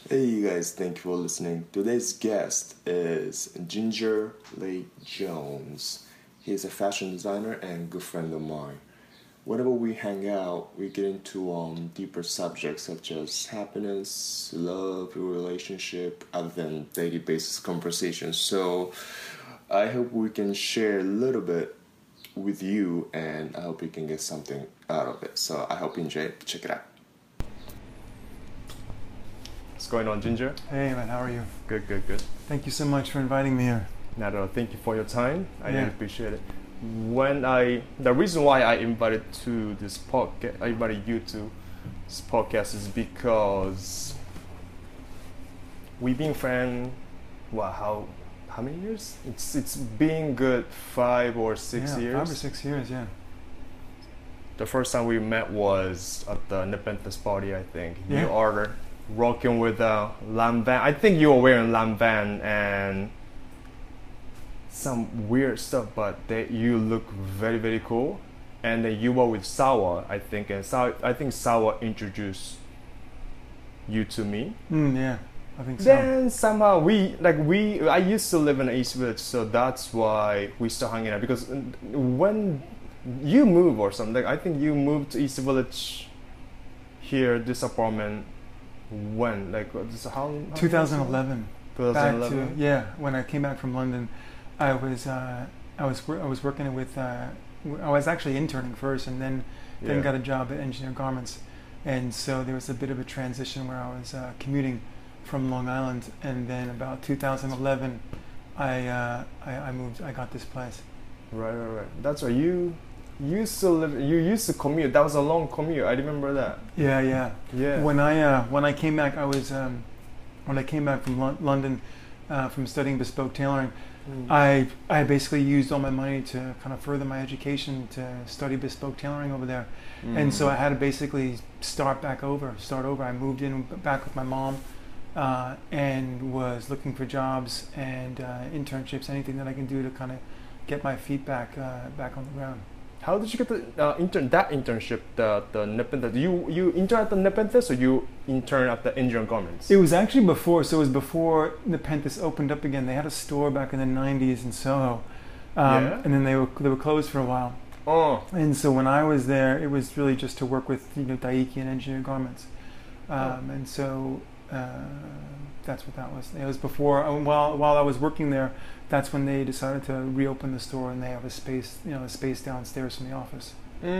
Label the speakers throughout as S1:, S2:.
S1: Hey you guys, thank you for listening. Today's guest is Ginger Lee Jones. He's a fashion designer and good friend of mine. Whenever we hang out, we get into deeper subjects such as happiness, love, relationship, other than daily basis conversations. So I hope we can share a little bit with you, and I hope you can get something out of it. So I hope you enjoy it. Check it out. What's going on, Ginger?
S2: Hey man, how are you?
S1: Good, good, good.
S2: Thank you so much for inviting me here.
S1: Not at all. Thank you for your time. I really
S2: Yeah.
S1: appreciate it. The reason why I invited I invited you to this podcast is because we've been friends. Wow, how many years? It's been good 5 or 6 years.
S2: 5 or 6 years, yeah.
S1: The first time we met was at the Nepenthes party, I think.
S2: Yeah.
S1: You are rocking with Lam Van. I think you were wearing Lam Van and some weird stuff, but you look very, very cool. And then you were with Sawa, I think, and I think Sawa introduced you to me.
S2: Yeah, I think so.
S1: Then somehow I used to live in the East Village, so that's why we started hanging out. Because when you move or something, I think you moved to East Village here, this apartment. When? How
S2: 2011.
S1: 2011?
S2: When I came back from London, I was working with I was actually interning first, and then got a job at Engineer Garments, and so there was a bit of a transition where I was commuting from Long Island, and then about 2011, I moved. I got this place.
S1: Right. That's why you used to commute. That was a long commute. I remember that.
S2: Yeah. When I came back, when I came back from London from studying bespoke tailoring. I basically used all my money to kind of further my education to study bespoke tailoring over there, and so I had to basically start over. I moved in back with my mom, and was looking for jobs and internships, anything that I can do to kind of get my feet back on the ground.
S1: How did you get the internship? The Nepenthes. You intern at the Nepenthes, or you intern at the Engineer Garments?
S2: It was actually before. So it was before Nepenthes opened up again. They had a store back in the '90s in Soho, and then they were closed for a while.
S1: Oh.
S2: And so when I was there, it was really just to work with Daiki and Engineer Garments, and so that's what that was. It was before. While I was working there, that's when they decided to reopen the store, and they have a space downstairs from the office.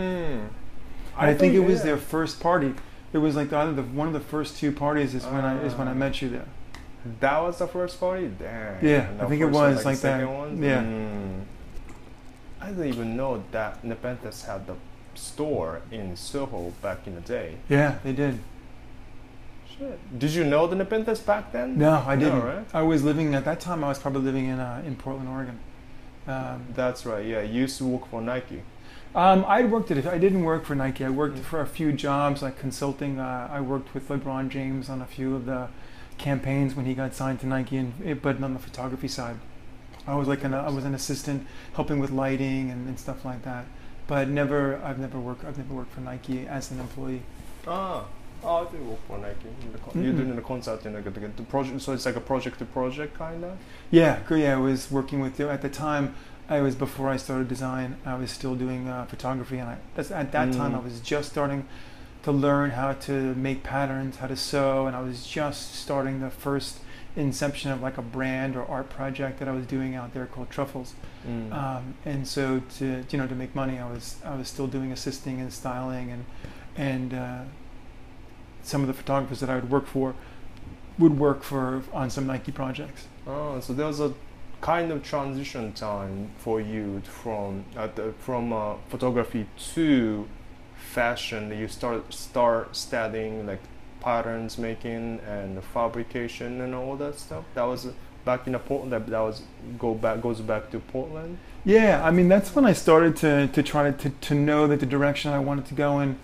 S2: I think it was their first party. It was like one of the first 2 parties is when I met you there.
S1: That was the first party? Damn.
S2: Yeah, I think it was like that.
S1: One?
S2: Yeah.
S1: I didn't even know that Nepenthes had the store in Soho back in the day.
S2: Yeah, they did.
S1: Did you know the Nepenthes back then?
S2: No, I didn't.
S1: No, right?
S2: I was living at that time. I was probably living in Portland, Oregon.
S1: That's right. Yeah, you used to work for Nike.
S2: I didn't work for Nike. I worked for a few jobs, like consulting. I worked with LeBron James on a few of the campaigns when he got signed to Nike, but on the photography side, I was I was an assistant helping with lighting and stuff like that. But I've never worked for Nike as an employee.
S1: I did work for Nike. You're doing the consulting, the project. So it's like a project to project kind of.
S2: Yeah. I was working with at the time. I was before I started design. I was still doing photography, and at that time I was just starting to learn how to make patterns, how to sew, and I was just starting the first inception of like a brand or art project that I was doing out there called Truffles. And so to make money, I was still doing assisting and styling and some of the photographers that I would work for on some Nike projects.
S1: Oh, so there was a kind of transition time for you from photography to fashion. You start studying like patterns making and fabrication and all that stuff. That was back in Portland. Goes back to Portland.
S2: Yeah, I mean that's when I started to try to know that the direction I wanted to go in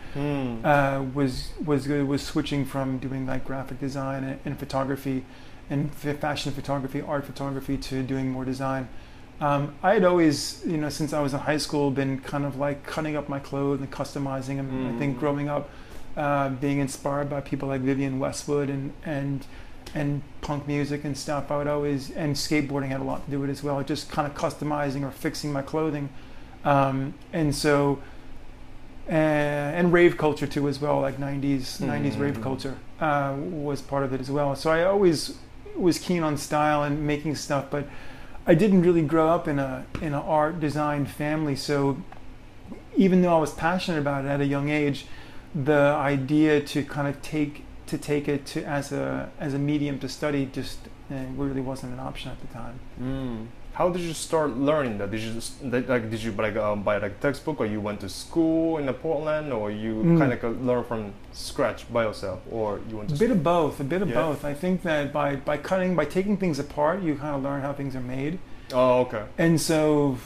S2: was switching from doing like graphic design and photography and fashion photography, art photography, to doing more design. I had always, since I was in high school, been kind of like cutting up my clothes and customizing them. I think growing up, being inspired by people like Vivienne Westwood and and punk music and stuff, I would always, and skateboarding had a lot to do with it as well, just kind of customizing or fixing my clothing. And so, and rave culture too as well, like 90s rave culture was part of it as well. So I always was keen on style and making stuff, but I didn't really grow up in an art design family. So even though I was passionate about it at a young age, the idea to kind of take it to as a medium to study just really wasn't an option at the time.
S3: How did you start learning that? Did you buy like a textbook, or you went to school in Portland, or you kind of learn from scratch by yourself, or you went to
S2: a bit of both. I think that by taking things apart, you kind of learn how things are made.
S3: Oh, okay.
S2: And so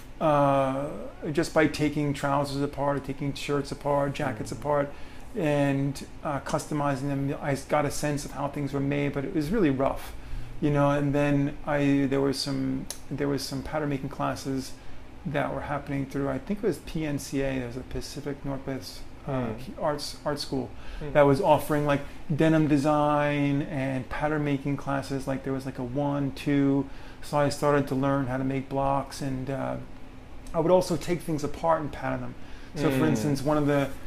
S2: just by taking trousers apart, taking shirts apart, jackets apart, and customizing them, I got a sense of how things were made, but it was really rough. And then there was some pattern making classes that were happening through, I think it was PNCA, there was a Pacific Northwest art school that was offering like denim design and pattern making classes. Like there was like a 1, 2, so I started to learn how to make blocks, and I would also take things apart and pattern them. So for instance, one of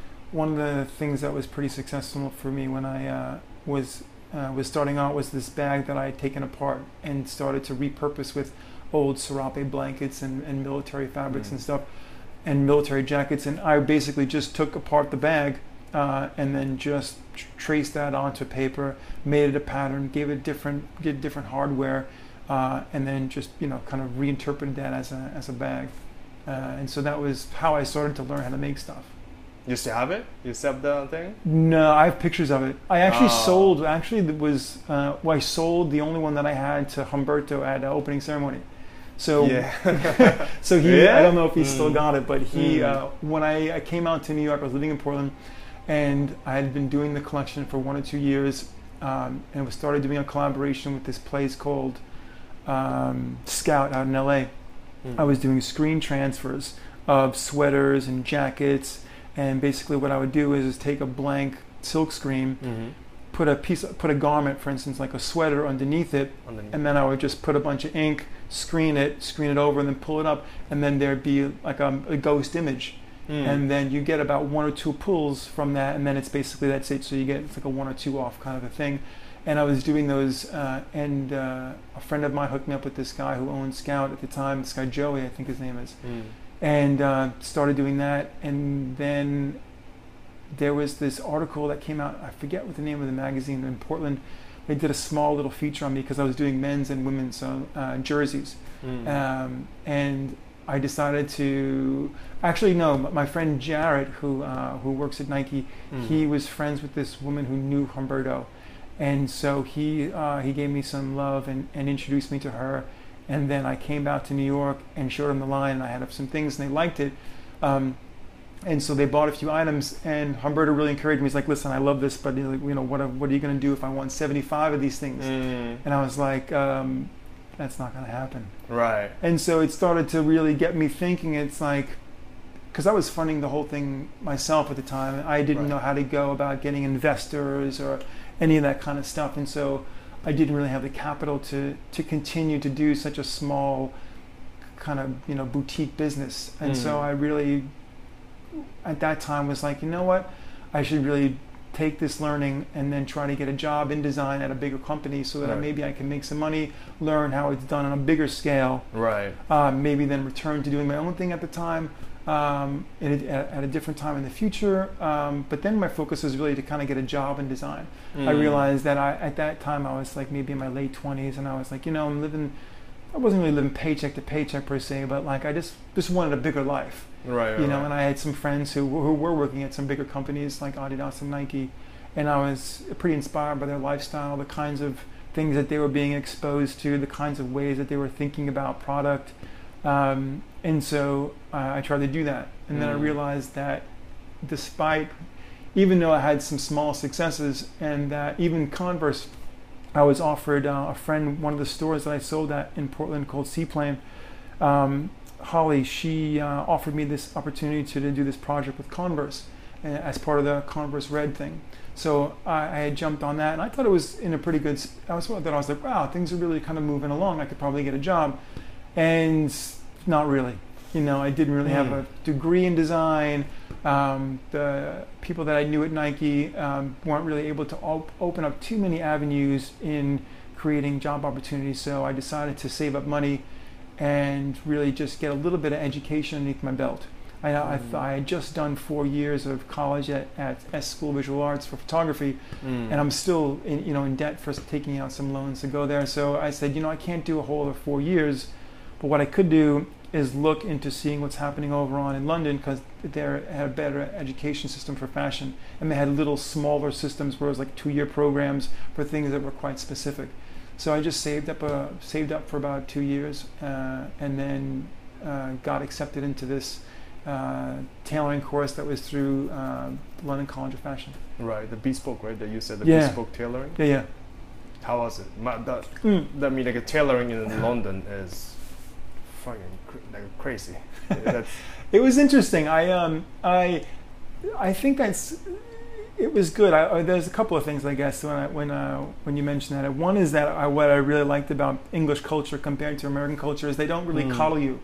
S2: the things that was pretty successful for me when I was starting out was this bag that I had taken apart and started to repurpose with old serape blankets and military fabrics and stuff, and military jackets. And I basically just took apart the bag and then just traced that onto paper, made it a pattern, gave it different hardware, and then just kind of reinterpreted that as a bag. And so that was how I started to learn how to make stuff.
S3: You still have it? You still have the thing?
S2: No, I have pictures of it. I actually sold. Actually, I sold the only one that I had to Humberto at the opening ceremony. So, so he. I don't know if he still got it, but he. When I came out to New York, I was living in Portland, and I had been doing the collection for 1 or 2 years, and we started doing a collaboration with this place called Scout out in LA. I was doing screen transfers of sweaters and jackets. And basically what I would do is take a blank silk screen, put a garment, for instance, like a sweater underneath it, and then I would just put a bunch of ink, screen it over, and then pull it up, and then there'd be like a ghost image. And then you get about 1 or 2 pulls from that, and then it's basically that's it. So it's like a 1 or 2 off kind of a thing. And I was doing those, and a friend of mine hooked me up with this guy who owned Scout at the time, this guy Joey, I think his name is. And started doing that, and then there was this article that came out, I forget what the name of the magazine in Portland. They did a small little feature on me because I was doing men's and women's jerseys. And I decided to, actually no, my friend Jared, who works at Nike, he was friends with this woman who knew Humberto. And so he gave me some love and introduced me to her. And then I came out to New York and showed them the line, and I had up some things, and they liked it. And so they bought a few items, and Humberto really encouraged me. He's like, listen, I love this, but what are you going to do if I want 75 of these things? And I was like, that's not going to happen.
S3: Right.
S2: And so it started to really get me thinking. It's like, because I was funding the whole thing myself at the time. I didn't know how to go about getting investors or any of that kind of stuff. And so I didn't really have the capital to continue to do such a small kind of boutique business. And so I really at that time was like, you know what, I should really take this learning and then try to get a job in design at a bigger company so that maybe I can make some money, learn how it's done on a bigger scale, maybe then return to doing my own thing at the time, at a different time in the future. But then my focus was really to kind of get a job in design. I realized that at that time I was like maybe in my late 20s, and I was like, I wasn't really living paycheck to paycheck per se, but like I just wanted a bigger life. And I had some friends who were working at some bigger companies like Adidas and Nike, and I was pretty inspired by their lifestyle, the kinds of things that they were being exposed to, the kinds of ways that they were thinking about product. And so I tried to do that. And then I realized that even though I had some small successes, and that even Converse, I was offered a friend, one of the stores that I sold at in Portland called Seaplane, Holly, she offered me this opportunity to do this project with Converse as part of the Converse Red thing. So I had jumped on that, and I thought it was in a pretty good. I was like, wow, things are really kind of moving along. I could probably get a job, and not really. You know, I didn't really have a degree in design. The people that I knew at Nike weren't really able to open up too many avenues in creating job opportunities. So I decided to save up money and really just get a little bit of education underneath my belt. I had just done 4 years of college at S School of Visual Arts for photography, and I'm still in debt for taking out some loans to go there. So I said, I can't do a whole other 4 years, but what I could do is look into seeing what's happening over on in London, because they had a better education system for fashion, and they had little smaller systems where it was like 2-year programs for things that were quite specific. So I just saved up for about 2 years, and then got accepted into this tailoring course that was through London College of Fashion.
S3: Right, the bespoke, right? That you said the
S2: Yeah.
S3: bespoke tailoring.
S2: Yeah.
S3: How was it? That mean like a tailoring in London is fucking crazy. That's
S2: It was interesting. I think it was good. There's a couple of things, I guess, when you mentioned that. One is that what I really liked about English culture compared to American culture is they don't really coddle you.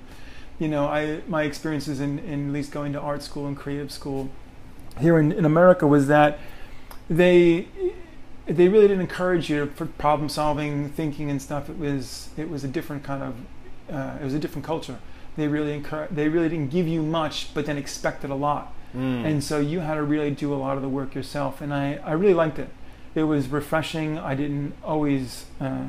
S2: My experiences in at least going to art school and creative school here in America was that they really didn't encourage you for problem solving, thinking and stuff. It was a different kind of it was a different culture. They really didn't give you much, but then expected a lot. And so you had to really do a lot of the work yourself, and I really liked it. It was refreshing. I didn't always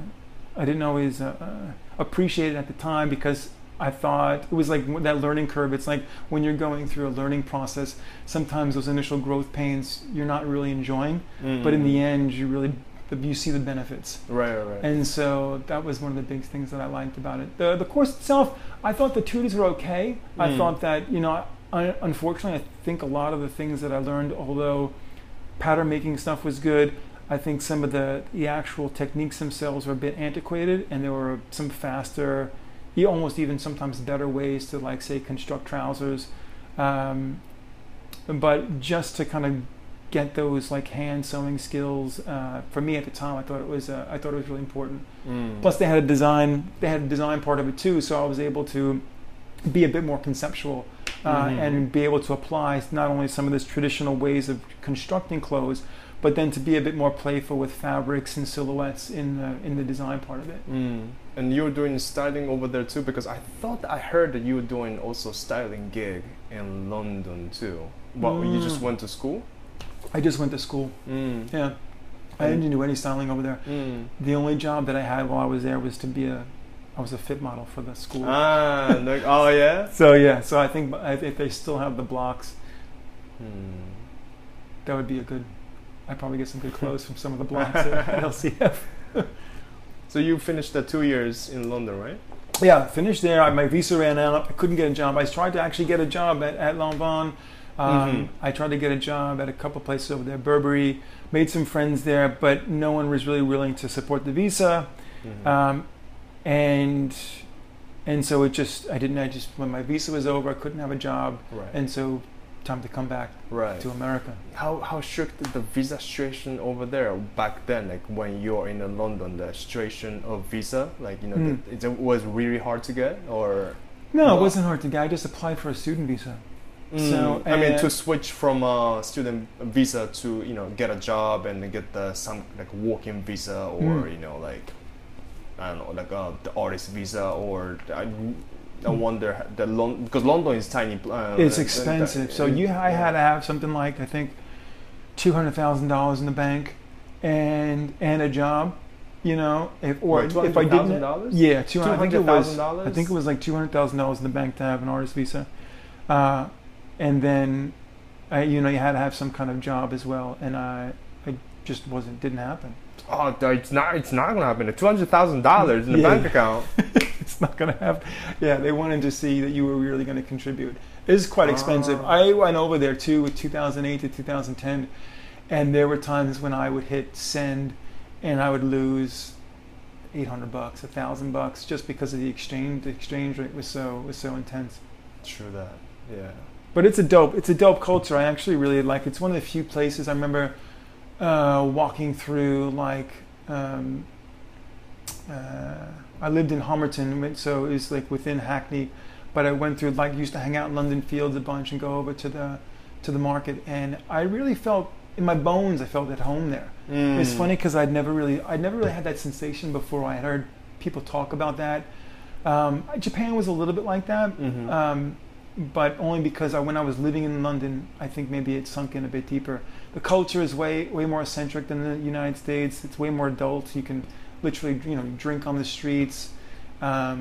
S2: appreciate it at the time, because I thought it was like that learning curve. It's like when you're going through a learning process, sometimes those initial growth pains you're not really enjoying, but in the end you see the benefits.
S3: Right.
S2: And so that was one of the big things that I liked about it. The course itself, I thought the tutors were okay. I thought that, unfortunately, I think a lot of the things that I learned, although pattern making stuff was good, I think some of the actual techniques themselves were a bit antiquated, and there were some faster, almost even sometimes better ways to, like, say, construct trousers. But just to kind of get those like hand sewing skills, for me at the time, I thought it was really important. Plus, they had a design part of it too, so I was able to be a bit more conceptual and be able to apply not only some of these traditional ways of constructing clothes, but then to be a bit more playful with fabrics and silhouettes in the design part of it.
S3: And you were doing styling over there too, because I heard that you were doing also styling gig in London too. Well, you just went to school?
S2: I just went to school. Yeah, I didn't do any styling over there. The only job that I had while I was there was I was a fit model for the school.
S3: Oh yeah.
S2: So I think if they still have the blocks, that would be I'd probably get some good clothes from some of the blocks at LCF.
S3: So you finished the 2 years in London, right?
S2: Yeah, finished there. My visa ran out. I couldn't get a job. I tried to actually get a job at Lanvin. I tried to get a job at a couple places over there, Burberry. Made some friends there, but no one was really willing to support the visa. And so when my visa was over, I couldn't have a job.
S3: Right.
S2: And so time to come back to America.
S3: How strict is the visa situation over there back then? Like when you're in London, the situation of visa, like it was really hard to get, or
S2: no, it wasn't hard to get. I just applied for a student visa. So
S3: I mean, to switch from a student visa to get a job and get some like working visa, or like I don't know, like the artist visa, or I wonder because London is tiny.
S2: It's expensive. I had to have something like, I think, $200,000 in the bank, and a job. If I didn't, yeah, $200,000. I think it was like $200,000 in the bank to have an artist visa, and then, you had to have some kind of job as well, and I just didn't happen.
S3: Oh, it's not gonna happen. $200,000 in the bank account.
S2: It's not gonna happen. Yeah, they wanted to see that you were really going to contribute. It is quite expensive. I went over there too, with 2008 to 2010, and there were times when I would hit send, and I would lose $800, $1,000, just because of the exchange. The exchange rate was so intense.
S3: True that. Yeah.
S2: But it's a dope culture. I actually really like it. It's one of the few places I remember. walking through like I lived in Homerton, so it's like within Hackney, but I went through like used to hang out in London Fields a bunch and go over to the market, and I really felt in my bones I felt at home there. It's funny because I'd never really had that sensation before. I had heard people talk about that. Japan was a little bit like that, but only because when I was living in London, I think maybe it sunk in a bit deeper. The culture is way more eccentric than the United States. It's way more adult. You can literally, drink on the streets. I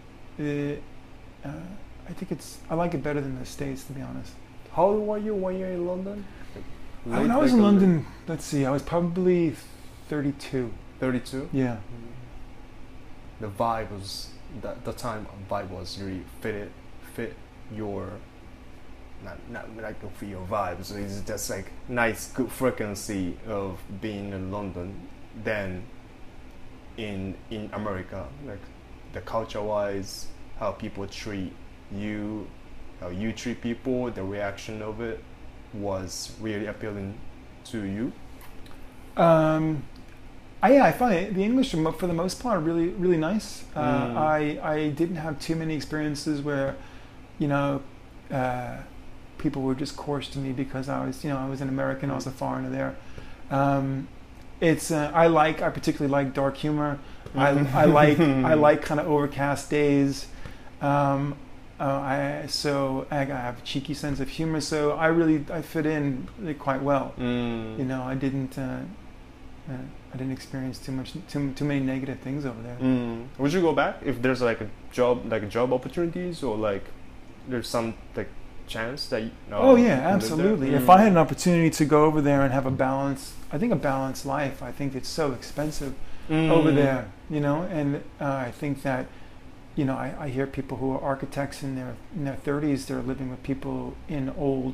S2: think I like it better than the States, to be honest.
S3: How old were you when you were in London?
S2: When I was in London, let's see, I was probably 32.
S3: 32?
S2: Yeah.
S3: The vibe was the time vibe was really fit your not like for your vibe. So it's just like nice good frequency of being in London than in America, like the culture wise, how people treat you, how you treat people, the reaction of it was really appealing to you. I find the English for the most part really really nice. I didn't have too many experiences where people were just coarse to me because I was an American, I was a foreigner there. I particularly like dark humor. I like kind of overcast days. I have a cheeky sense of humor, so I fit in really quite well. I didn't experience too many negative things over there. Would you go back if there's like job opportunities, or like there's some like chance that
S2: oh yeah, absolutely. If I had an opportunity to go over there and have a balanced life, I think it's so expensive over there, and I think that I hear people who are architects in their 30s, they're living with people in old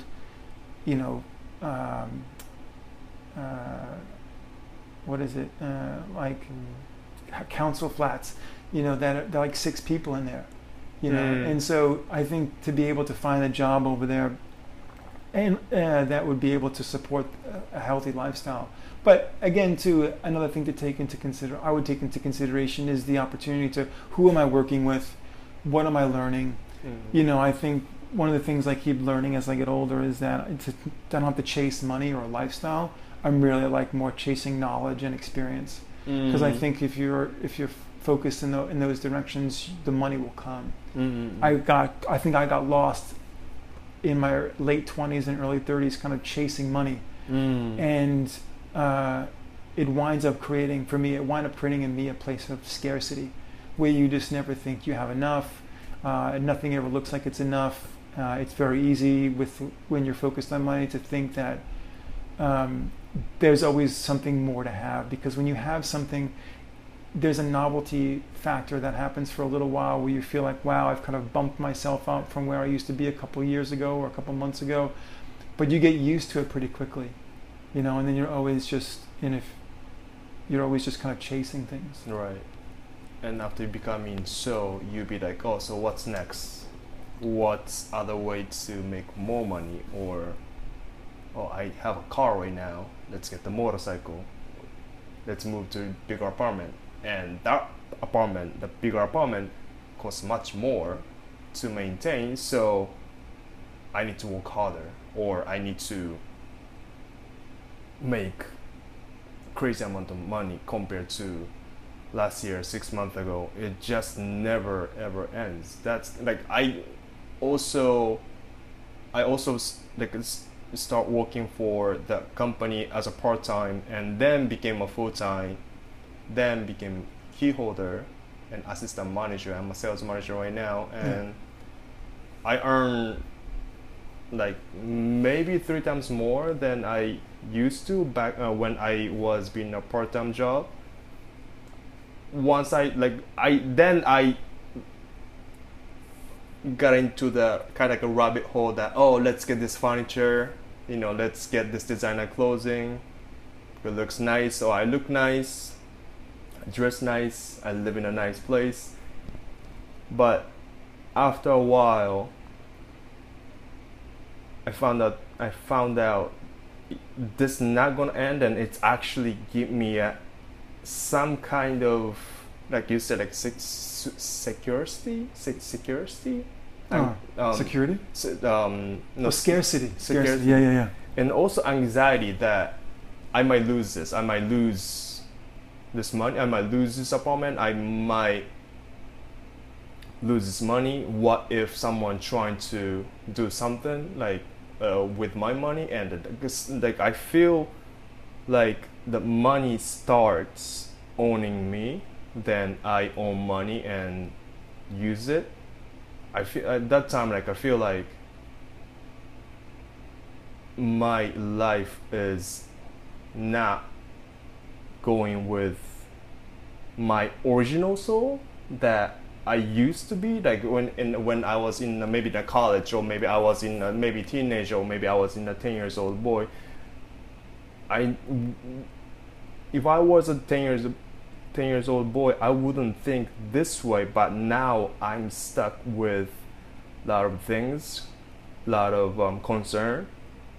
S2: what is it council flats, that are like 6 people in there. And so I think to be able to find a job over there and that would be able to support a healthy lifestyle. But again, another thing to take into consideration is the opportunity to, who am I working with? What am I learning? I think one of the things I keep learning as I get older is that I don't have to chase money or a lifestyle. I'm really like more chasing knowledge and experience. Because I think if you're focused in those directions, the money will come. I think I got lost in my late 20s and early 30s kind of chasing money. And it winds up creating in me a place of scarcity where you just never think you have enough. Nothing ever looks like it's enough. It's very easy when you're focused on money to think that there's always something more to have, because when you have something, there's a novelty factor that happens for a little while where you feel like, wow, I've kind of bumped myself up from where I used to be a couple years ago or a couple months ago, but you get used to it pretty quickly, and then you're always just kind of chasing things.
S3: Right. And after becoming you'd be like, oh, so what's next? What's other way to make more money? Or, oh, I have a car right now, let's get the motorcycle, let's move to a bigger apartment, and the bigger apartment costs much more to maintain, so I need to work harder, or I need to make crazy amount of money compared to last year, 6 months ago. It just never ever ends. That's like I also start working for the company as a part-time, and then became a full-time, then became key holder and assistant manager. I'm a sales manager right now, and I earn like maybe 3 times more than I used to back when I was being a part-time job. Once I got into the kind of like a rabbit hole that, oh, let's get this furniture, let's get this designer clothing, it looks nice, or I look nice, I dress nice, I live in a nice place. But after a while, I found out this not gonna end, and it's actually give me some kind of, like you said, like security.
S2: Security?
S3: No,
S2: Scarcity.
S3: Scarcity.
S2: Yeah.
S3: And also anxiety that I might lose this. I might lose this money. I might lose this apartment. I might lose this money. What if someone trying to do something like with my money? And like I feel like the money starts owning me, then I own money and use it. I feel at that time, like I feel like my life is not going with my original soul that I used to be, like when I was in maybe the college, or maybe I was in maybe teenage, or maybe I was in a 10 years old boy. If I was a 10 years old boy, I wouldn't think this way, but now I'm stuck with a lot of things, a lot of concern.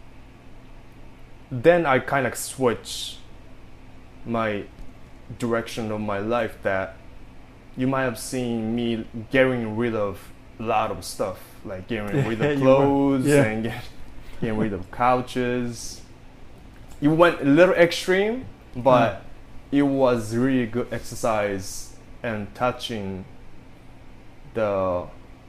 S3: Then I kind of switch my direction of my life, that you might have seen me getting rid of a lot of stuff, like getting rid of clothes and getting rid of couches. You went a little extreme, but it was really good exercise and touching the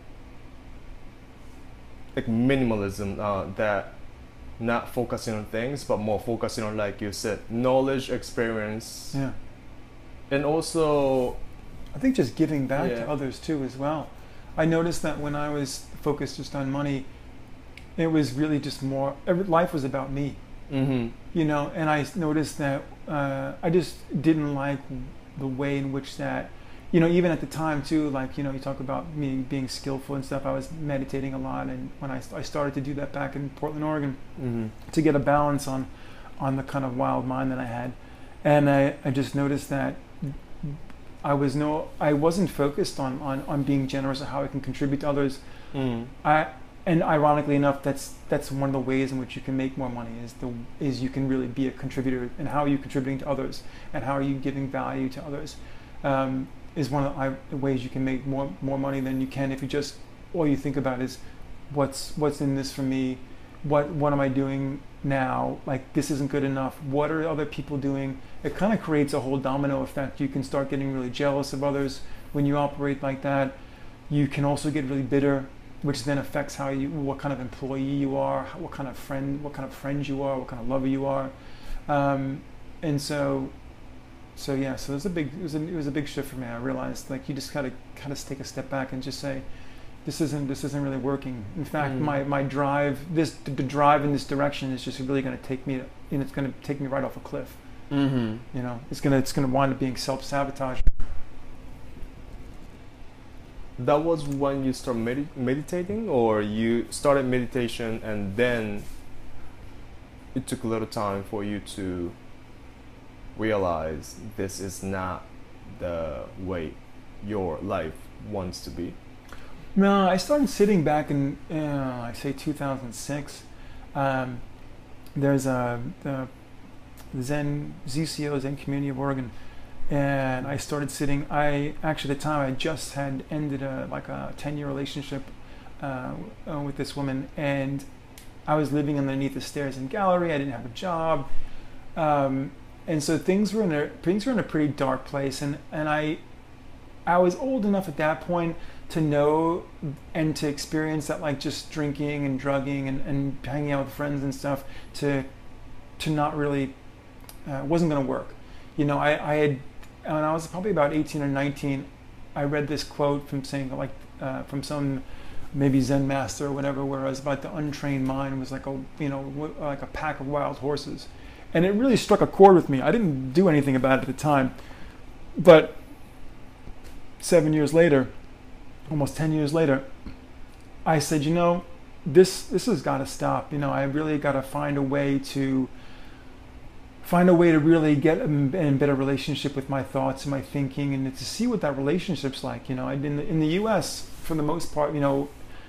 S3: like minimalism, that not focusing on things but more focusing on, like you said, knowledge, experience, and also
S2: I think just giving back to others too as well. I noticed that when I was focused just on money, it was really just more, life was about me. You know, and I noticed that I just didn't like the way in which that, you know, even at the time too, like, you know, you talk about me being skillful and stuff, I was meditating a lot, and when I started to do that back in Portland, Oregon, to get a balance on the kind of wild mind that I had, and I just noticed that I wasn't focused on being generous or how I can contribute to others. And ironically enough, that's one of the ways in which you can make more money, is you can really be a contributor, and how are you contributing to others, and how are you giving value to others, is one of the ways you can make more money than you can if you just, all you think about is what's in this for me, what am I doing now, like this isn't good enough, what are other people doing. It kind of creates a whole domino effect. You can start getting really jealous of others when you operate like that. You can also get really bitter, which then affects what kind of employee you are, what kind of friends you are, what kind of lover you are, and so it was a big shift for me. I realized, like, you just gotta kind of take a step back and just say, this isn't really working. In fact, my drive, the drive in this direction is just really going to take me, it's going to take me right off a cliff. You know, it's going to wind up being self-sabotage.
S3: That was when you started meditating, or you started meditation and then it took a little time for you to realize this is not the way your life wants to be?
S2: No, I started sitting back in, I say 2006. There's the Zen ZCO, Zen Community of Oregon, and I started sitting. Actually, at the time, I just had ended a 10-year relationship with this woman, and I was living underneath the stairs in Gallery. I didn't have a job, and so things were in a pretty dark place. And I was old enough at that point to know and to experience that, like, just drinking and drugging and hanging out with friends and stuff to not really wasn't going to work. You know, I had, when I was probably about 18 or 19, I read this quote from from some maybe Zen master or whatever, where it was about the untrained mind was like a pack of wild horses, and it really struck a chord with me. I didn't do anything about it at the time, but 7 years later, almost 10 years later, I said, you know, this has got to stop. You know, I really got to find a way to really get in better relationship with my thoughts and my thinking, and to see what that relationship's like. You know, in the U.S., for the most part, you know,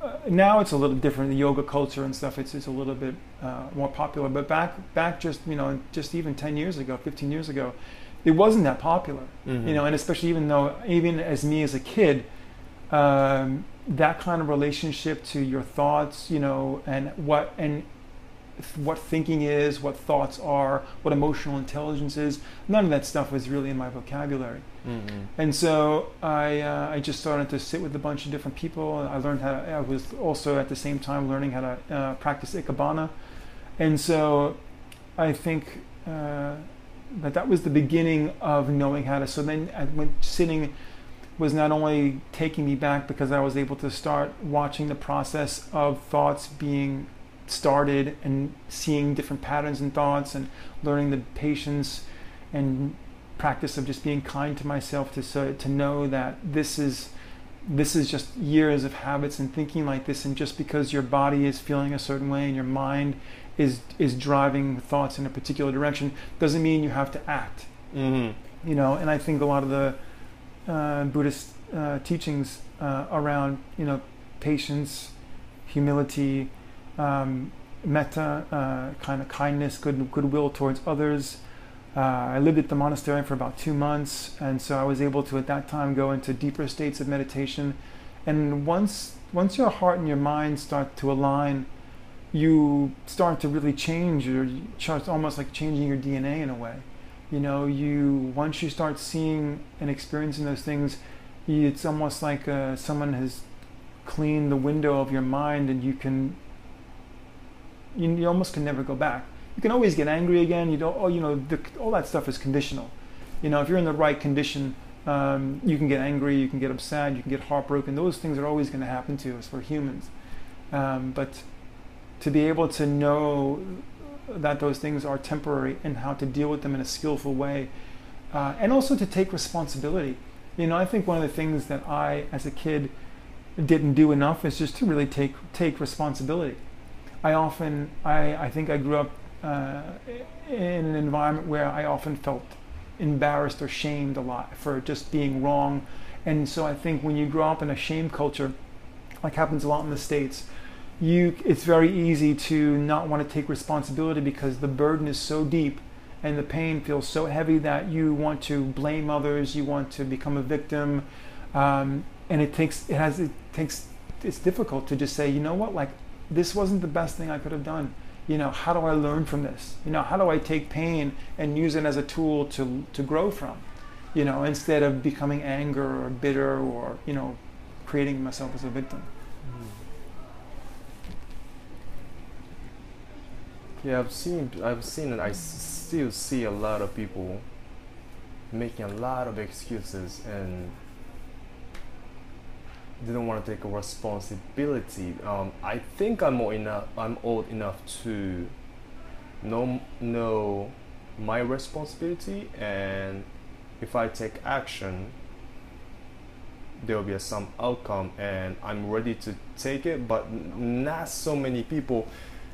S2: now it's a little different. The yoga culture and stuff, it's a little bit more popular. But back just just even 10 years ago, 15 years ago, it wasn't that popular. And especially even as me as a kid, that kind of relationship to your thoughts, and what thinking is, what thoughts are, what emotional intelligence is. None of that stuff was really in my vocabulary. And so I just started to sit with a bunch of different people. I was also at the same time learning how to practice Ikebana. And so I think that was the beginning of knowing how to. So then sitting was not only taking me back because I was able to start watching the process of thoughts being started and seeing different patterns in thoughts and learning the patience and practice of just being kind to myself to know that this is just years of habits and thinking like this, and just because your body is feeling a certain way and your mind is driving thoughts in a particular direction doesn't mean you have to act. And I think a lot of the Buddhist teachings around patience, humility, metta, kind of kindness, goodwill towards others. I lived at the monastery for about 2 months, and so I was able to at that time go into deeper states of meditation. And once your heart and your mind start to align, you start to really change. It's almost like changing your DNA in a way. Once you start seeing and experiencing those things, it's almost like someone has cleaned the window of your mind, and you almost can never go back. You can always get angry again. All that stuff is conditional. If you're in the right condition, you can get angry, you can get upset, you can get heartbroken. Those things are always going to happen to us. We're humans. But to be able to know that those things are temporary and how to deal with them in a skillful way, and also to take responsibility. I think one of the things that I, as a kid, didn't do enough is just to really take responsibility. I think I grew up in an environment where I often felt embarrassed or shamed a lot for just being wrong. And so I think when you grow up in a shame culture, like happens a lot in the States, it's very easy to not want to take responsibility because the burden is so deep and the pain feels so heavy that you want to blame others, you want to become a victim, and it's difficult to just say, like, this wasn't the best thing I could have done. How do I learn from this? How do I take pain and use it as a tool to grow from? Instead of becoming anger or bitter or creating myself as a victim.
S3: Yeah, I've seen and I still see a lot of people making a lot of excuses and they don't want to take a responsibility. I think I'm old enough to know my responsibility, and if I take action, there will be some outcome, and I'm ready to take it. But not so many people.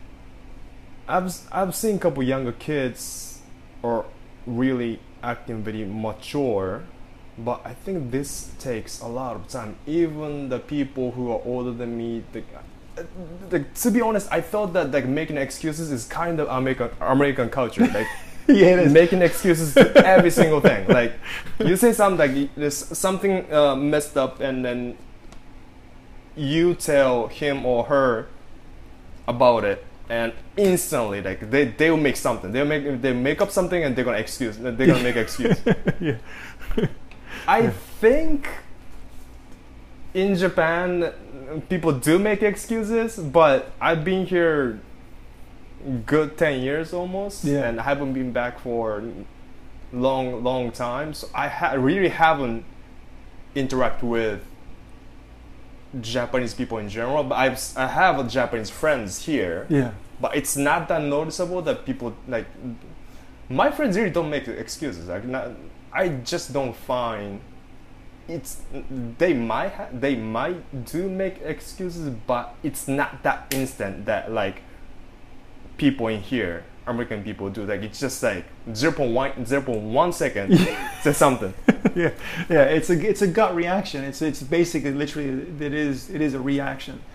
S3: I've seen a couple younger kids are really acting very mature, but I think this takes a lot of time. Even the people who are older than me, to be honest, I thought that making excuses is kind of American culture. Like
S2: Yeah, it is.
S3: Making excuses to every single thing. Like you say something, like there's something messed up, and then you tell him or her about it. And instantly, like they will make something. They make up something, and they're gonna make excuse.
S2: Yeah.
S3: I think in Japan, people do make excuses, but I've been here good 10 years almost, and I haven't been back for long time. So I really haven't interacted with Japanese people in general, but I have Japanese friends here.
S2: Yeah.
S3: But it's not that noticeable that people, like, my friends really don't make excuses. Like, I just don't find it's. They might do make excuses, but it's not that instant that like people in here, American people do. Like it's just like 0.1 second say something.
S2: Yeah, it's a gut reaction. It's basically literally it is a reaction.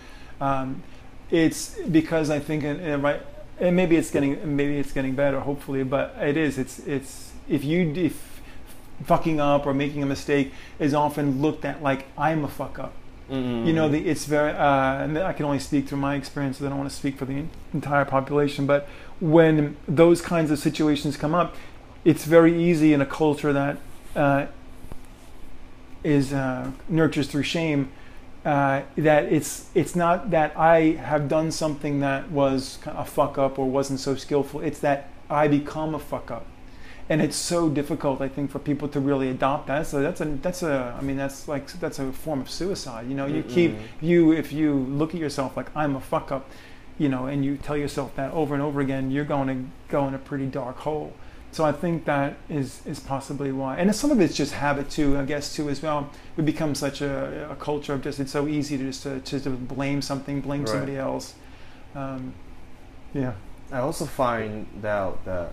S2: It's because I think, right, and maybe it's getting better, hopefully, but it is. It's if fucking up or making a mistake is often looked at like I'm a fuck up.
S3: Mm-hmm.
S2: You know, it's very. And I can only speak through my experiences. I don't want to speak for the entire population, but when those kinds of situations come up, it's very easy in a culture that is nurtures through shame. That it's not that I have done something that was a fuck up or wasn't so skillful. It's that I become a fuck up, and it's so difficult, I think, for people to really adopt that. So that's a form of suicide. You know, if you look at yourself like I'm a fuck up, you know, and you tell yourself that over and over again, you're going to go in a pretty dark hole. So I think that is possibly why. And some of it's just habit too, I guess, too, as well. We become such a culture of just, it's so easy to just to blame something, blame somebody else. Yeah.
S3: I also find out that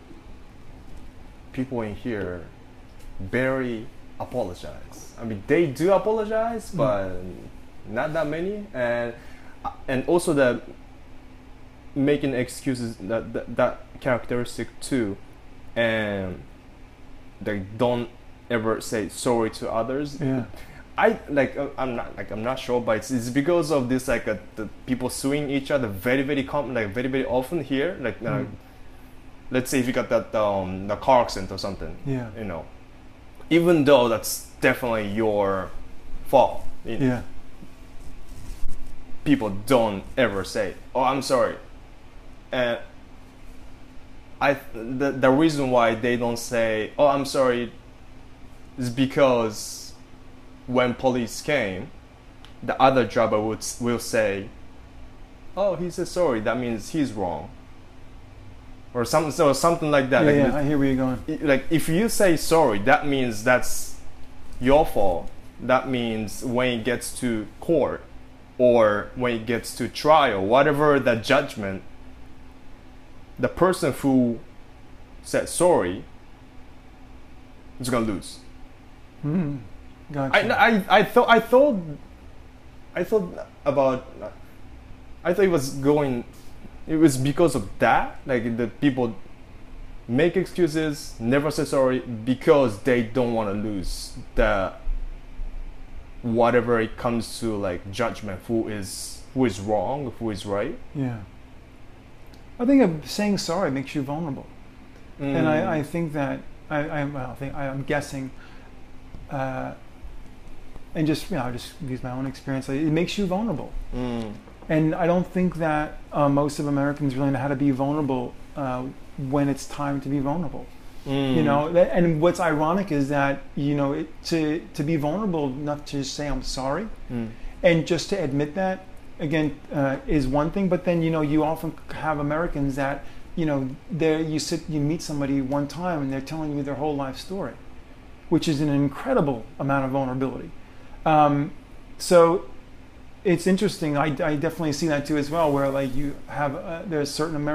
S3: people in here barely apologize. I mean, they do apologize, but not that many. And also that making excuses, that characteristic too. And they don't ever say sorry to others.
S2: Yeah.
S3: I'm not sure, but it's because of this the people suing each other very very very often here. Let's say if you got that the car accident or something.
S2: Yeah.
S3: You know, even though that's definitely your fault.
S2: Yeah.
S3: People don't ever say, "Oh, I'm sorry," and the reason why they don't say, "Oh, I'm sorry," is because when police came, the other driver will say, "Oh, he said sorry. That means he's wrong," or something like that.
S2: Yeah, I hear where you're going.
S3: Like if you say sorry, that means that's your fault. That means when it gets to court or when it gets to trial, whatever the judgment, the person who said sorry is gonna lose.
S2: Gotcha.
S3: I thought it was because of that, like the people make excuses, never say sorry because they don't want to lose the whatever it comes to like judgment, who is wrong, who is right.
S2: Yeah. I think saying sorry makes you vulnerable, and I think that I'm guessing, and just just use my own experience. It makes you vulnerable, and I don't think that most of Americans really know how to be vulnerable when it's time to be vulnerable. You know, and what's ironic is that to be vulnerable enough to just say I'm sorry, and just to admit that. Again, is one thing, but then you often have Americans that you meet somebody one time and they're telling you their whole life story, which is an incredible amount of vulnerability. So it's interesting. I definitely see that too as well, where like you have there's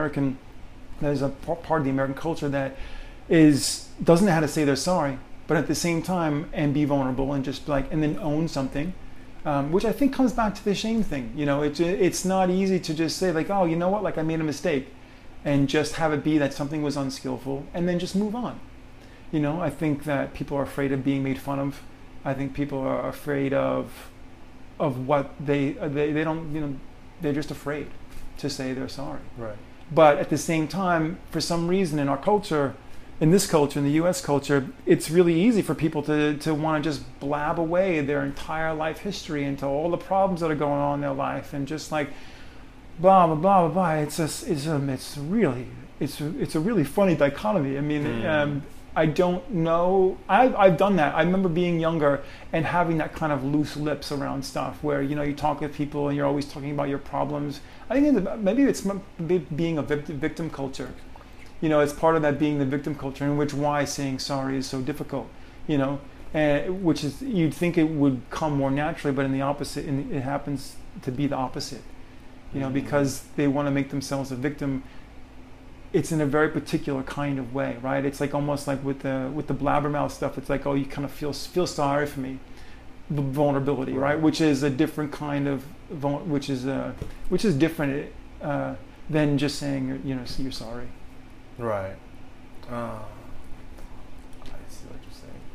S2: a part of the American culture that doesn't know how to say they're sorry, but at the same time and be vulnerable and just and then own something. Which I think comes back to the shame thing. It's not easy to just say like, oh, you know what, like I made a mistake, and just have it be that something was unskillful, and then just move on. I think that people are afraid of being made fun of. I think people are afraid of what they don't. They're just afraid to say they're sorry.
S3: Right.
S2: But at the same time, for some reason in our culture, in this culture, in the U.S. culture, it's really easy for people to want to just blab away their entire life history into all the problems that are going on in their life, and just like blah blah blah blah blah. It's a really funny dichotomy. I mean, I don't know. I've done that. I remember being younger and having that kind of loose lips around stuff, where you talk with people and you're always talking about your problems. I think maybe it's being a victim culture. It's part of that being the victim culture, in which why saying sorry is so difficult, which is, you'd think it would come more naturally, but in the opposite, it happens to be the opposite, because they want to make themselves a victim. It's in a very particular kind of way, right? It's like almost like with the blabbermouth stuff. It's like, oh, you kind of feel sorry for me, vulnerability, right? Which is a different kind of which is different than just saying you're sorry.
S3: Right. I see what you're saying.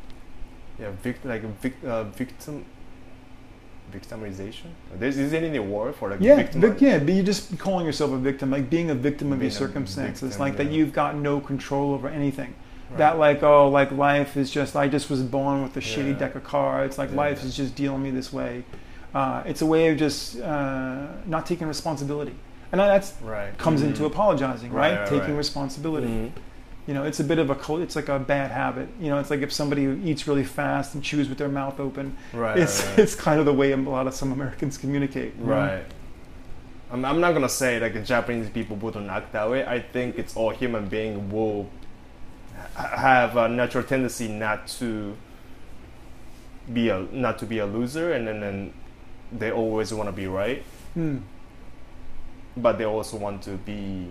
S3: Yeah, victimization. Is there any word for like victim?
S2: But you're just calling yourself a victim, like being a victim of your circumstances, like that you've got no control over anything. Right. That like life is just, I just was born with a shitty deck of cards. Like life is just dealing me this way. It's a way of just not taking responsibility, and that's comes into apologizing, right? Taking responsibility. Mm-hmm. It's a bit of it's like a bad habit. It's like if somebody eats really fast and chews with their mouth open. It's kind of the way some Americans communicate.
S3: Right. I'm not gonna say like Japanese people wouldn't act that way. I think it's all human being will have a natural tendency not to be a loser, and then they always want to be right. But they also want to be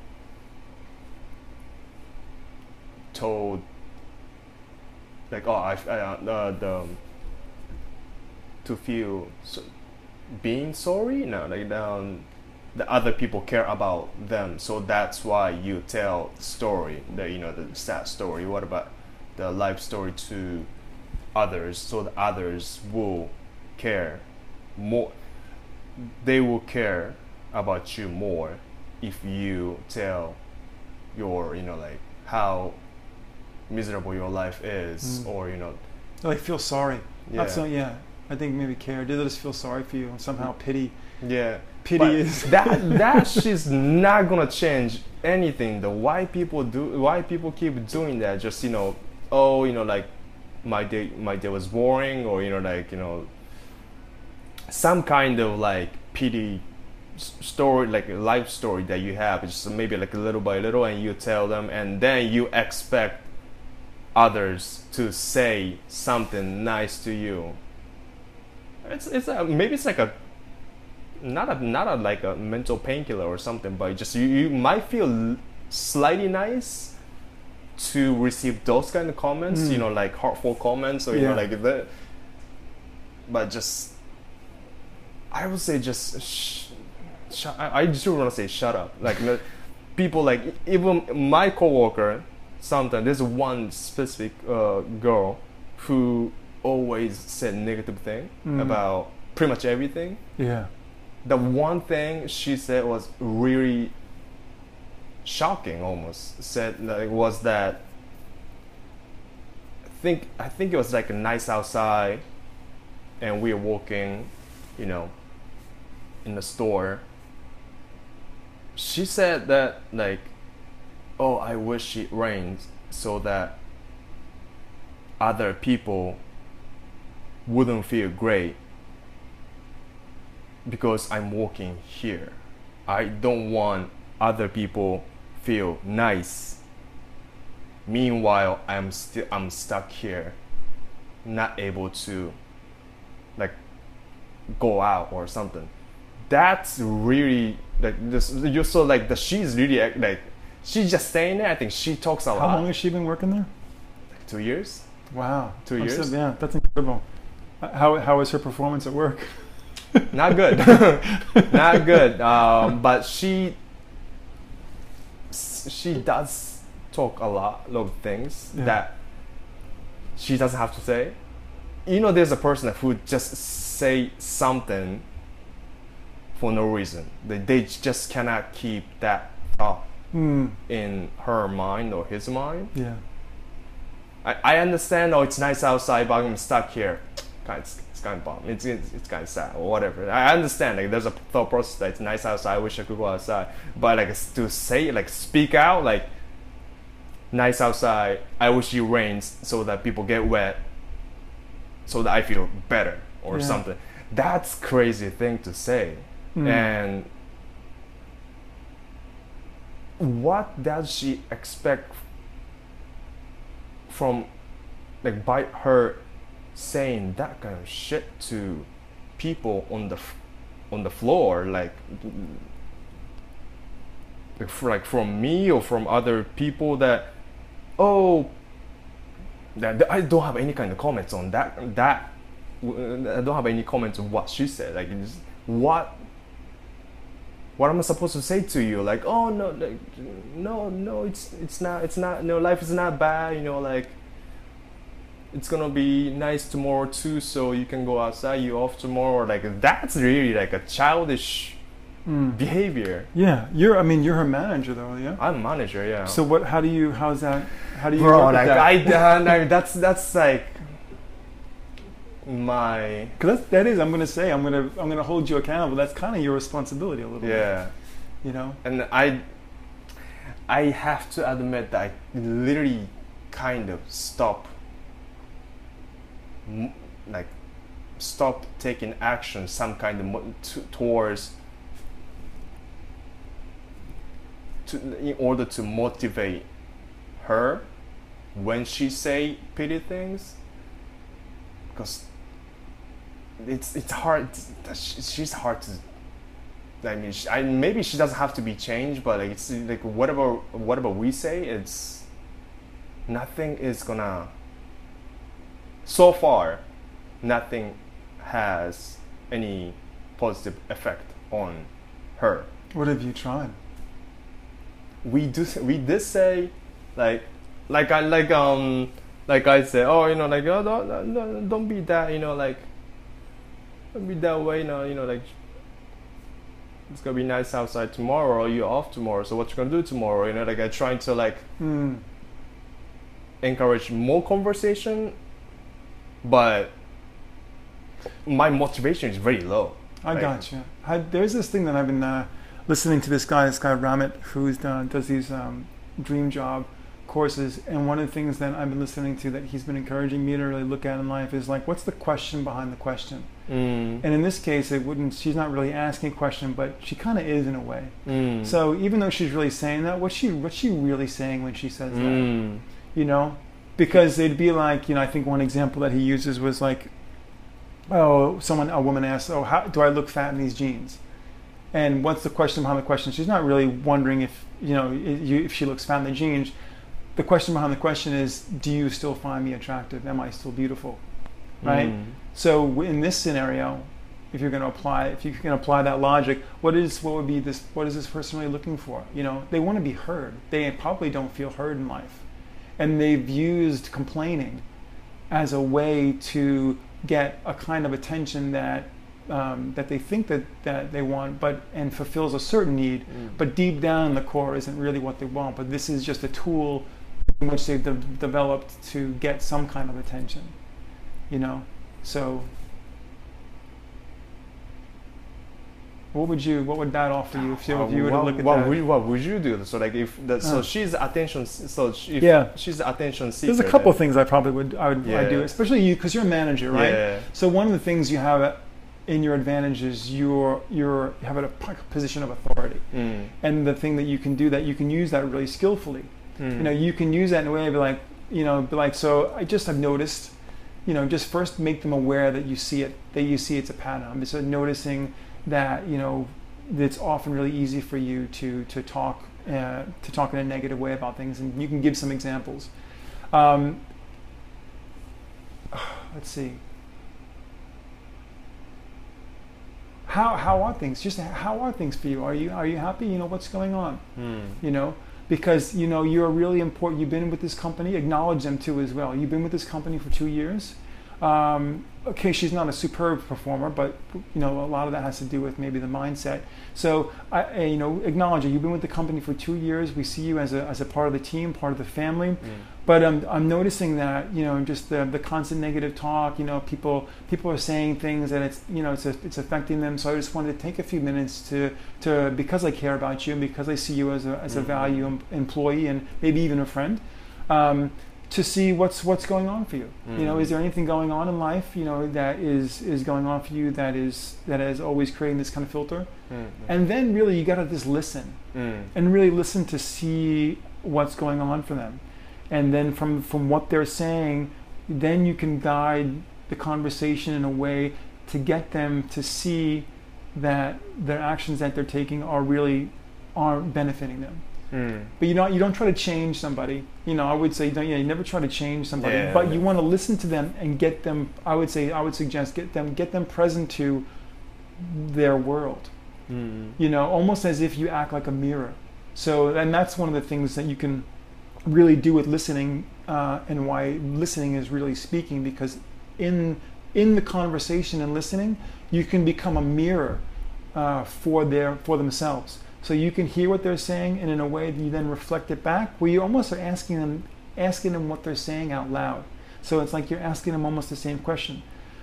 S3: told like to feel being sorry, the other people care about them, so that's why you tell story, the sad story, what about the life story to others, so the others will care more, they will care about you more if you tell your like how miserable your life is, or
S2: like feel sorry. I think maybe care. They just feel sorry for you and somehow pity. Pity but is
S3: that she's not gonna change anything. Why people keep doing that? Just like my day was boring, or some kind of like pity story, like a life story that you have. It's just maybe like little by little, and you tell them, and then you expect others to say something nice to you. Maybe it's like not a like a mental painkiller or something, but just you might feel slightly nice to receive those kind of comments, like heartful comments, or like that. But just, I would say just I just want to say shut up. Like people, like even my coworker, sometimes there's one specific girl who always said negative thing about pretty much everything. The one thing she said was really shocking, almost. Was that I think it was like nice outside, and we were walking, in the store. She said that like, oh, I wish it rains so that other people wouldn't feel great because I'm walking here. I don't want other people feel nice. Meanwhile, I'm stuck here, not able to like go out or something. That's really like this. You're so like the she's really like she's just saying it. I think she talks a lot.
S2: How long has she been working there?
S3: Like 2 years.
S2: Wow,
S3: 2 years.
S2: Yeah, that's incredible. How is her performance at work?
S3: Not good. Not good. But she does talk a lot of things that she doesn't have to say. There's a person who just say something for no reason. They just cannot keep that thought in her mind or his mind.
S2: Yeah.
S3: I understand. Oh, it's nice outside, but I'm stuck here. It's kind of bomb. It's kind of sad or whatever. I understand. Like there's a thought process that it's nice outside. I wish I could go outside. But like to say, like speak out, like nice outside. I wish it rains so that people get wet, so that I feel better or something. That's crazy thing to say. And what does she expect from, like, by her saying that kind of shit to people on the floor, like from me or from other people that I don't have any kind of comments on that I don't have any comments on what she said. Like, it's, what am I supposed to say to you? Like, oh no, like, no, it's not. No, life is not bad. You know, like, it's gonna be nice tomorrow too. So you can go outside. You off tomorrow. Like, that's really like a childish behavior.
S2: Yeah, you're her manager though, yeah.
S3: I'm manager, yeah.
S2: So how do you work
S3: Bro,
S2: with
S3: like
S2: that?
S3: no, that's like my.
S2: Because I'm gonna hold you accountable. That's kind of your responsibility a little bit.
S3: Yeah.
S2: You know.
S3: And I have to admit that I literally kind of stop taking action, some kind of towards. In order to motivate her when she say pity things, because it's hard. She's hard to. I mean, maybe she doesn't have to be changed, but like, it's like whatever we say, it's nothing is gonna. So far, nothing has any positive effect on her.
S2: What have you tried?
S3: We did say like I said, oh, you know, like, oh, don't be that, you know, like, don't be that way, you know, like, it's gonna be nice outside tomorrow, or you're off tomorrow, so what you gonna do tomorrow, you know, like, I'm trying to like encourage more conversation, but my motivation is very low.
S2: I got you. There's this thing that I've been listening to this guy Ramit, who does these dream job courses, and one of the things that I've been listening to that he's been encouraging me to really look at in life is like, what's the question behind the question? And in this case, she's not really asking a question, but she kind of is in a way. So even though she's really saying that, what's she really saying when she says that? You know, because it'd be like, you know, I think one example that he uses was like, oh, a woman asks, oh, how do I look fat in these jeans? And what's the question behind the question? She's not really wondering if, you know, if she looks fat in the jeans. The question behind the question is, do you still find me attractive? Am I still beautiful? Right? So in this scenario, if you can apply that logic, what is this person really looking for? You know, they want to be heard. They probably don't feel heard in life. And they've used complaining as a way to get a kind of attention that they think that they want, and fulfills a certain need, but deep down in the core isn't really what they want. But this is just a tool in which they've developed to get some kind of attention, you know. So, what would that offer you if you were to look at that?
S3: What would you do? So like so she's attention. So she's the attention seeker.
S2: There's a couple of things I would do, especially you, because you're a manager, right?
S3: Yeah.
S2: So one of the things you have in your advantage is you have a position of authority, and the thing that you can do, that you can use that really skillfully. You know, you can use that in a way of like, so I've noticed, you know, just first make them aware that you see it's a pattern. I'm just noticing that, you know, it's often really easy for you to talk in a negative way about things, and you can give some examples. Let's see. How are things? Just how are things for you? Are you happy? You know, what's going on? You know, because, you know, you're really important. You've been with this company. Acknowledge them too as well. You've been with this company for 2 years. Okay, she's not a superb performer, but, you know, a lot of that has to do with maybe the mindset. So, you know, acknowledge it. You've been with the company for 2 years. We see you as a part of the team, part of the family. But I'm noticing that, you know, just the constant negative talk. You know, people are saying things, and it's, you know, it's affecting them. So I just wanted to take a few minutes to because I care about you, and because I see you as a value employee, and maybe even a friend. To see what's going on for you. You know, is there anything going on in life, you know, that is going on for you that is always creating this kind of filter? And then really you got to just listen and really listen to see what's going on for them. And then from what they're saying, then you can guide the conversation in a way to get them to see that their actions that they're taking aren't benefiting them. But you don't try to change somebody. I would say you never try to change somebody, but you want to listen to them and get them. I would suggest get them present to their world. Almost as if you act like a mirror. So, and that's one of the things that you can really do with listening, and why listening is really speaking, because in the conversation and listening, you can become a mirror for themselves. So you can hear what they're saying, and in a way that you then reflect it back, where you almost are asking them what they're saying out loud. So it's like you're asking them almost the same question.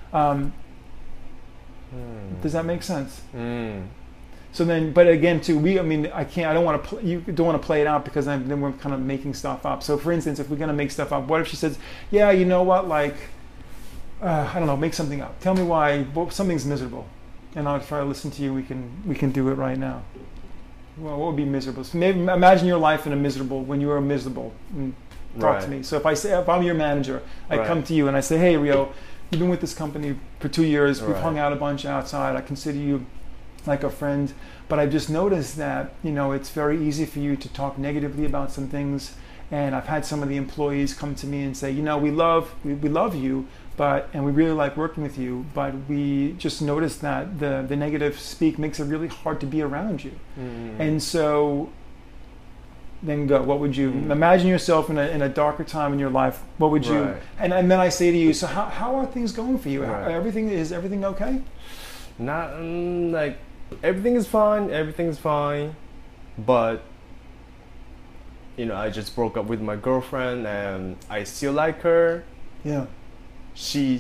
S2: Does that make sense? So then, but again, too, I don't want to. You don't want to play it out, because then we're kind of making stuff up. So, for instance, if we're gonna make stuff up, what if she says, "Yeah, you know what? Like, I don't know, make something up. Tell me why something's miserable," and I'll try to listen to you. We can do it right now. Well, what would be miserable? So maybe imagine your life when you were miserable. And talk to me. So if I'm your manager, I come to you and I say, "Hey, Rio, you've been with this company for 2 years. We've hung out a bunch outside. I consider you like a friend, but I've just noticed that it's very easy for you to talk negatively about some things, and I've had some of the employees come to me and say, we love you, and we really like working with you, but we just noticed that the negative speak makes it really hard to be around you." And so then what would you imagine yourself in a darker time in your life? What would you and then I say to you, so how are things going for you? Is everything okay?
S3: Not like everything is fine, but I just broke up with my girlfriend, and I still like her.
S2: Yeah.
S3: We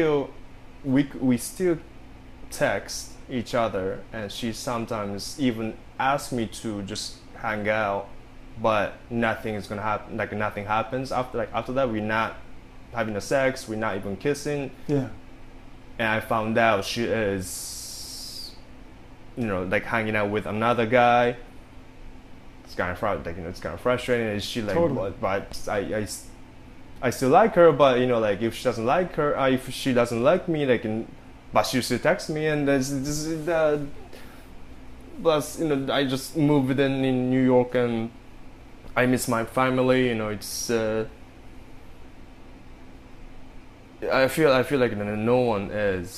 S3: still text each other, and she sometimes even asks me to just hang out, but nothing is gonna happen. Like nothing happens after that. We're not having sex. We're not even kissing.
S2: Yeah. And
S3: I found out she is, hanging out with another guy. It's kind of it's kind of frustrating. And she
S2: totally.
S3: But I still like her. But if she doesn't like her, if she doesn't like me, but she still texts me, and plus I just moved in New York, and I miss my family. It's. I feel like no one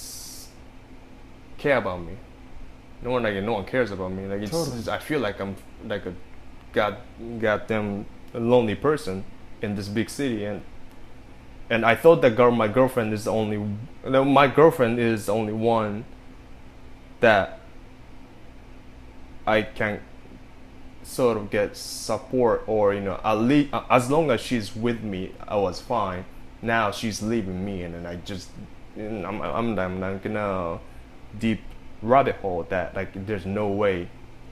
S3: care about me. No one cares about me.
S2: Totally.
S3: I feel like I'm like a goddamn lonely person in this big city, and I thought that my girlfriend is the only one that I can sort of get support, or at least as long as she's with me, I was fine. Now she's leaving me, and then I just I'm not gonna deep rabbit hole that there's no way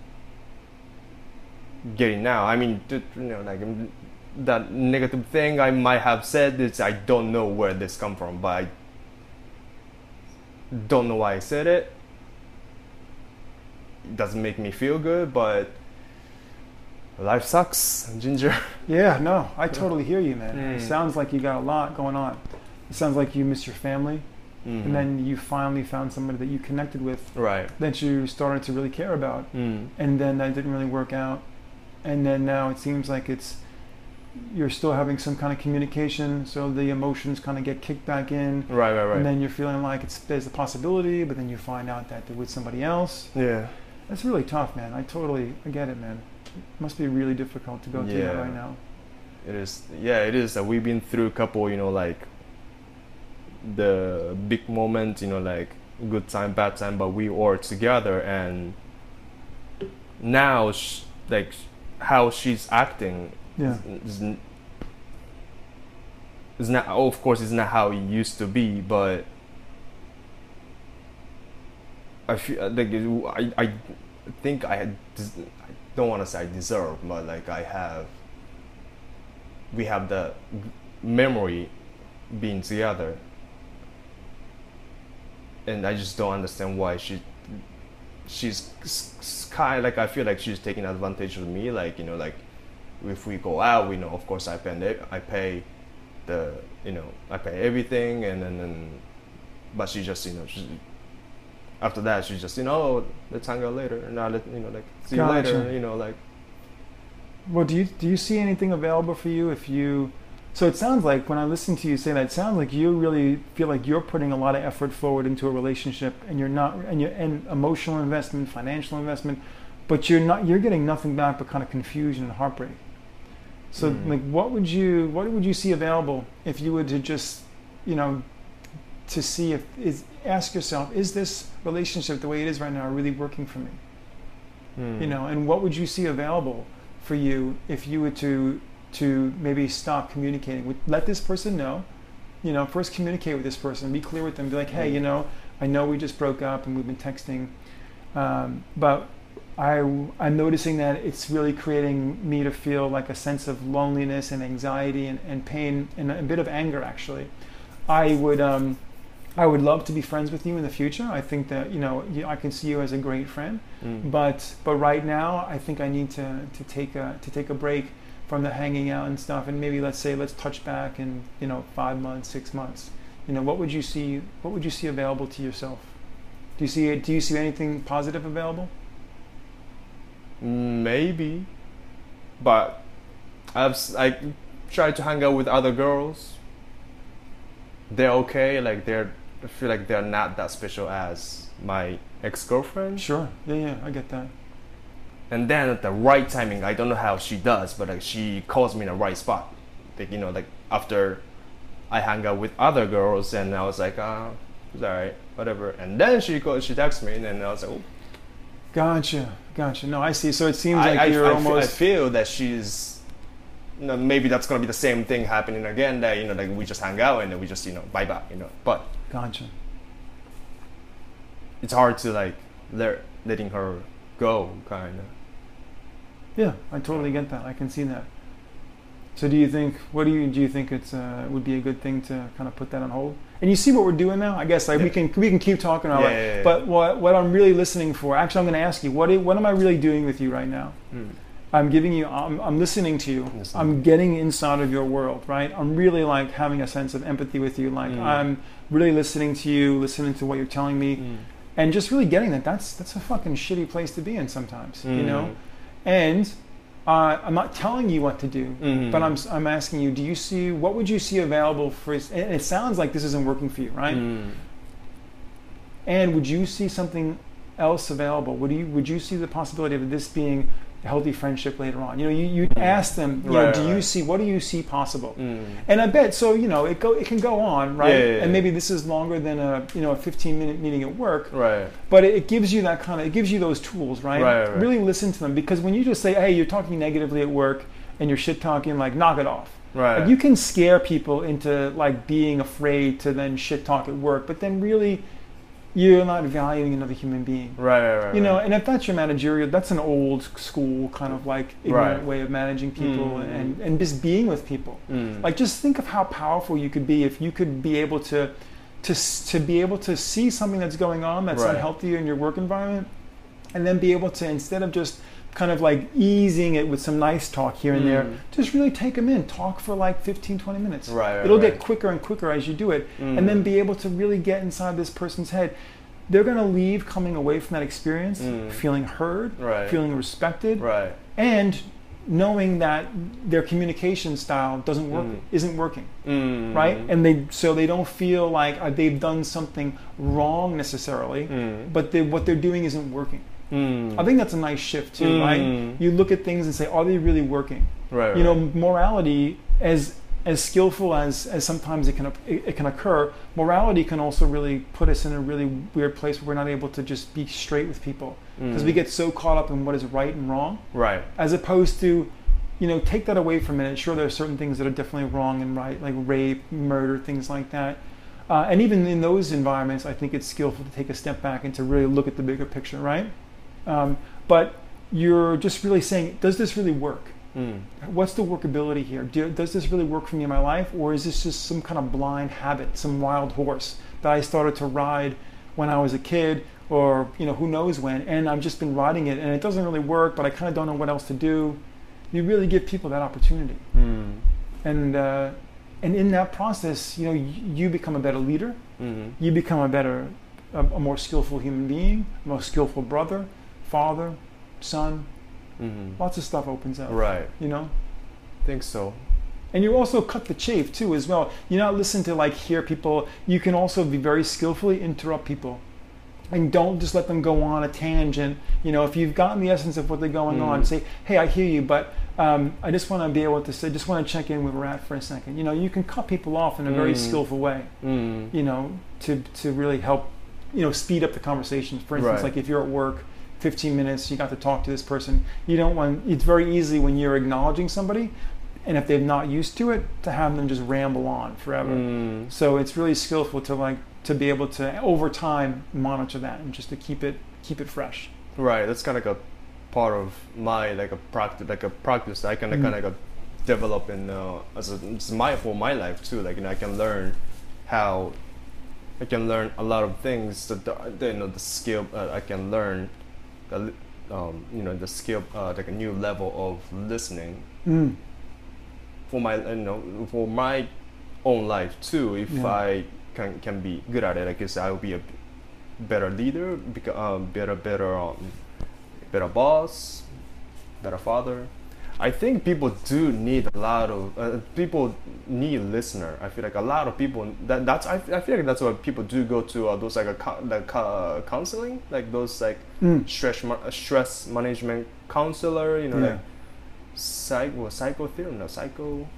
S3: getting out. That negative thing I might have said is I don't know where this come from, but I don't know why I said it. It doesn't make me feel good, but life sucks, Ginger.
S2: Yeah, no, I totally hear you, man. It sounds like you got a lot going on. It sounds like you miss your family, and then you finally found somebody that you connected with, that you started to really care about, and then that didn't really work out, and then now it seems like you're still having some kind of communication, so the emotions kind of get kicked back in, and then you're feeling like there's a possibility, but then you find out that they're with somebody else.
S3: Yeah,
S2: that's really tough, man. I get it, man. It must be really difficult to go through that right now.
S3: It is. Yeah, it is. We've been through a couple, the big moment, good time, bad time, but we are together, and now, how she's acting is not. Of course, it's not how it used to be, but I feel I think I don't want to say I deserve, but we have the memory being together, and I just don't understand why she's kind of I feel like she's taking advantage of me. If we go out, of course I pay everything, and then but she just after that she's just let's hang out later, and now see you later,
S2: Well, do you see anything available for you if you? So it sounds like when I listen to you say that, it sounds like you really feel like you're putting a lot of effort forward into a relationship, and you're not, and emotional investment, financial investment, but you're getting nothing back but kind of confusion and heartbreak. So like, what would you see available if you were to just, to see ask yourself, is this relationship the way it is right now really working for me? And what would you see available for you if you were to maybe stop communicating let this person know, first communicate with this person, be clear with them, be like, hey, I know we just broke up and we've been texting, but I'm noticing that it's really creating me to feel like a sense of loneliness and anxiety and pain and a bit of anger, actually. I would love to be friends with you in the future. I think that, I can see you as a great friend, but right now I think I need to take a break from the hanging out and stuff, and maybe let's touch back in 5 months, 6 months. What would you see available to yourself? Do you see anything positive available?
S3: Maybe, but I try to hang out with other girls. They're okay, like I feel like they're not that special as my ex-girlfriend.
S2: Sure, yeah, I get that.
S3: And then at the right timing, I don't know how she does, but like she calls me in the right spot. Like after I hang out with other girls, and I was like, it's alright, whatever. And then she texts me, and then I was like, oh.
S2: Gotcha. No, I see. So it seems like you're almost.
S3: I feel that she's. Maybe that's gonna be the same thing happening again. That like we just hang out and then we just bye bye. But.
S2: Gotcha.
S3: It's hard to like letting her go, kind of.
S2: Yeah, I totally get that. I can see that. So do you think it's would be a good thing to kind of put that on hold? And you see what we're doing now? I guess we can keep talking about it. But what I'm really listening for, actually I'm going to ask you, what am I really doing with you right now? I'm listening to you. I'm getting inside of your world, right? I'm really like having a sense of empathy with you. Like I'm really listening to you, listening to what you're telling me, and just really getting that's a fucking shitty place to be in sometimes, And I'm not telling you what to do, but I'm asking you, what would you see available for, and it sounds like this isn't working for you, right? And would you see something else available? Would you see the possibility of this being a healthy friendship later on? You ask them, what do you see possible? And I bet, so it can go on, right? And maybe this is longer than a 15-minute meeting at work,
S3: right?
S2: But it gives you it gives you those tools, right? Right. Really listen to them, because when you just say, hey, you're talking negatively at work and you're shit talking, like, knock it off.
S3: Right.
S2: Like, you can scare people into like being afraid to then shit talk at work, but then really you're not valuing another human being.
S3: Right.
S2: And if that's your managerial, that's an old school kind of like ignorant way of managing people and just being with people. Like, just think of how powerful you could be if you could be able to be able to see something that's going on that's unhealthy in your work environment, and then be able to, instead of just kind of like easing it with some nice talk here and there, just really take them in, talk for like 15-20 minutes. It'll get quicker and quicker as you do it, and then be able to really get inside this person's head. They're going to leave coming away from that experience feeling heard, feeling respected, and knowing that their communication style isn't working, right? And they don't feel like they've done something wrong necessarily, but what they're doing isn't working. I think that's a nice shift too, right? You look at things and say, are they really working? Morality, as skillful as sometimes it can occur, morality can also really put us in a really weird place where we're not able to just be straight with people, because we get so caught up in what is right and wrong, as opposed to, take that away for a minute. Sure, there are certain things that are definitely wrong and right, like rape, murder, things like that. And even in those environments, I think it's skillful to take a step back and to really look at the bigger picture, right? But you're just really saying, does this really work? What's the workability here? Does this really work for me in my life? Or is this just some kind of blind habit, some wild horse that I started to ride when I was a kid, or who knows when, and I've just been riding it and it doesn't really work, but I kind of don't know what else to do. You really give people that opportunity. And in that process, you become a better leader. You become a more skillful human being, a more skillful brother, father, son, lots of stuff opens up.
S3: Right.
S2: You know?
S3: Think so.
S2: And you also cut the chafe too as well. You're not listening to like hear people. You can also be very skillfully interrupt people. And don't just let them go on a tangent. You know, if you've gotten the essence of what they're going on, say, hey, I hear you, but I just want to be able to say, just want to check in where we're at for a second. You know, you can cut people off in a very skillful way, you know, to really help, you know, speed up the conversation. For instance, like if you're at work, 15 minutes, you got to talk to this person. You don't want, it's very easy when you're acknowledging somebody, and if they're not used to it, to have them just ramble on forever. So it's really skillful to be able to over time monitor that and just to keep it fresh.
S3: Right, that's kind of like a part of my practice I can kind of develop in for my life too. Like, you know, I can learn a lot of things that the skill I can learn. You know, the skill like a new level of listening for my own life too. If I can be good at it, I guess I will be a better leader, better boss, better father. I think people do need a lot of people need listener. I feel like a lot of people I feel like that's why people do go to those counseling, like those like stress management counselor. You know, like psychotherapist.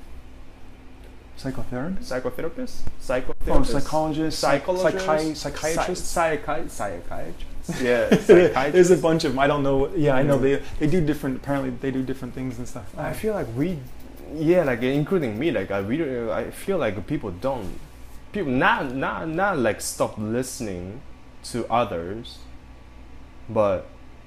S2: Oh, psychologist, psychiatrist.
S3: Yeah,
S2: there's a bunch of them. I don't know. Yeah, I know they do different. Apparently, they do different things and stuff.
S3: I feel like like including me, like I feel like people not like stop listening to others, but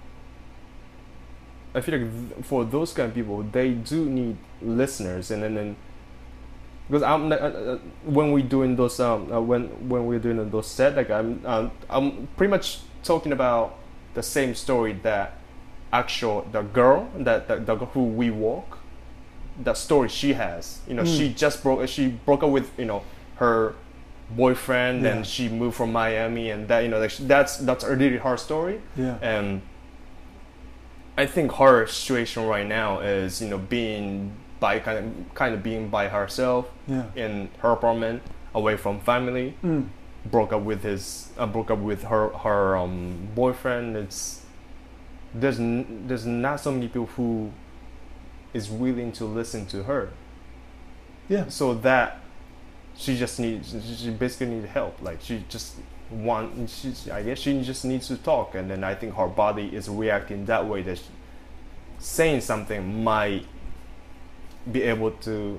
S3: I feel like for those kind of people, they do need listeners, and then. Because when we're doing those when we're doing those set, like I'm pretty much talking about the same story that the girl who we walk, that story she has. You know, she broke up with, you know, her boyfriend, and she moved from Miami, and that, you know, like that's really her story.
S2: Yeah.
S3: And I think her situation right now is, you know, being kind of being by herself in her apartment, away from family. Broke up with her boyfriend. There's not so many people who is willing to listen to her.
S2: Yeah.
S3: So that she basically needs help. Like I guess she just needs to talk, and then I think her body is reacting that way, that saying something might be able to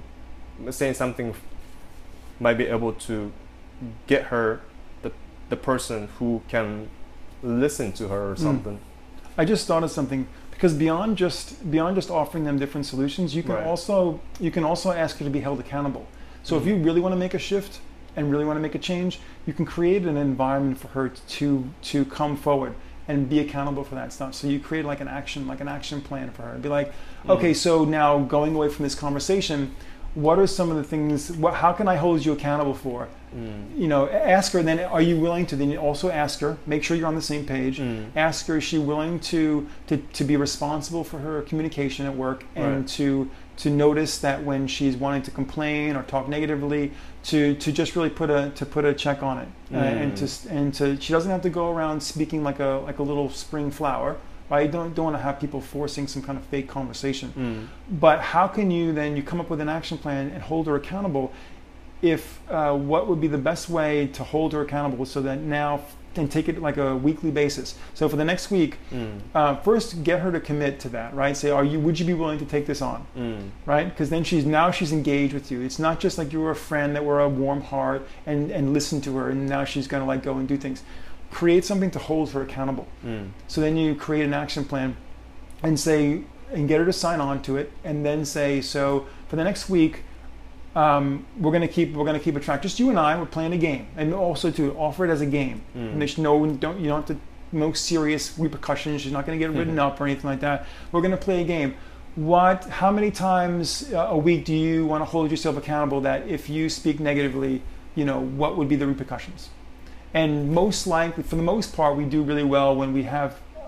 S3: get her the person who can listen to her or something.
S2: I just thought of something, because beyond just offering them different solutions, you can also ask her to be held accountable. So if you really want to make a shift and really want to make a change, you can create an environment for her to come forward and be accountable for that stuff. So you create like an action plan for her. Be like, okay, so now going away from this conversation, what are some of the things, how can I hold you accountable for? You know, ask her, then are you willing to, then you also ask her, make sure you're on the same page, ask her, is she willing to be responsible for her communication at work, and to notice that when she's wanting to complain or talk negatively, to just really put a check on it, and to she doesn't have to go around speaking like a little spring flower. I don't want to have people forcing some kind of fake conversation. But how can you come up with an action plan and hold her accountable? If what would be the best way to hold her accountable, so that now, and take it like a weekly basis. So for the next week, first get her to commit to that, right? Say, would you be willing to take this on, right? Because then she's engaged with you. It's not just like you were a friend that were a warm heart and listen to her, and now she's gonna like go and do things. Create something to hold her accountable. So then you create an action plan, and get her to sign on to it, and then say, so for the next week, we're gonna keep a track. Just you and I. We're playing a game, and also to offer it as a game. And there's you don't have to, no serious repercussions. She's not gonna get written up or anything like that. We're gonna play a game. How many times a week do you want to hold yourself accountable that if you speak negatively, you know, what would be the repercussions? And most likely, for the most part, we do really well when we have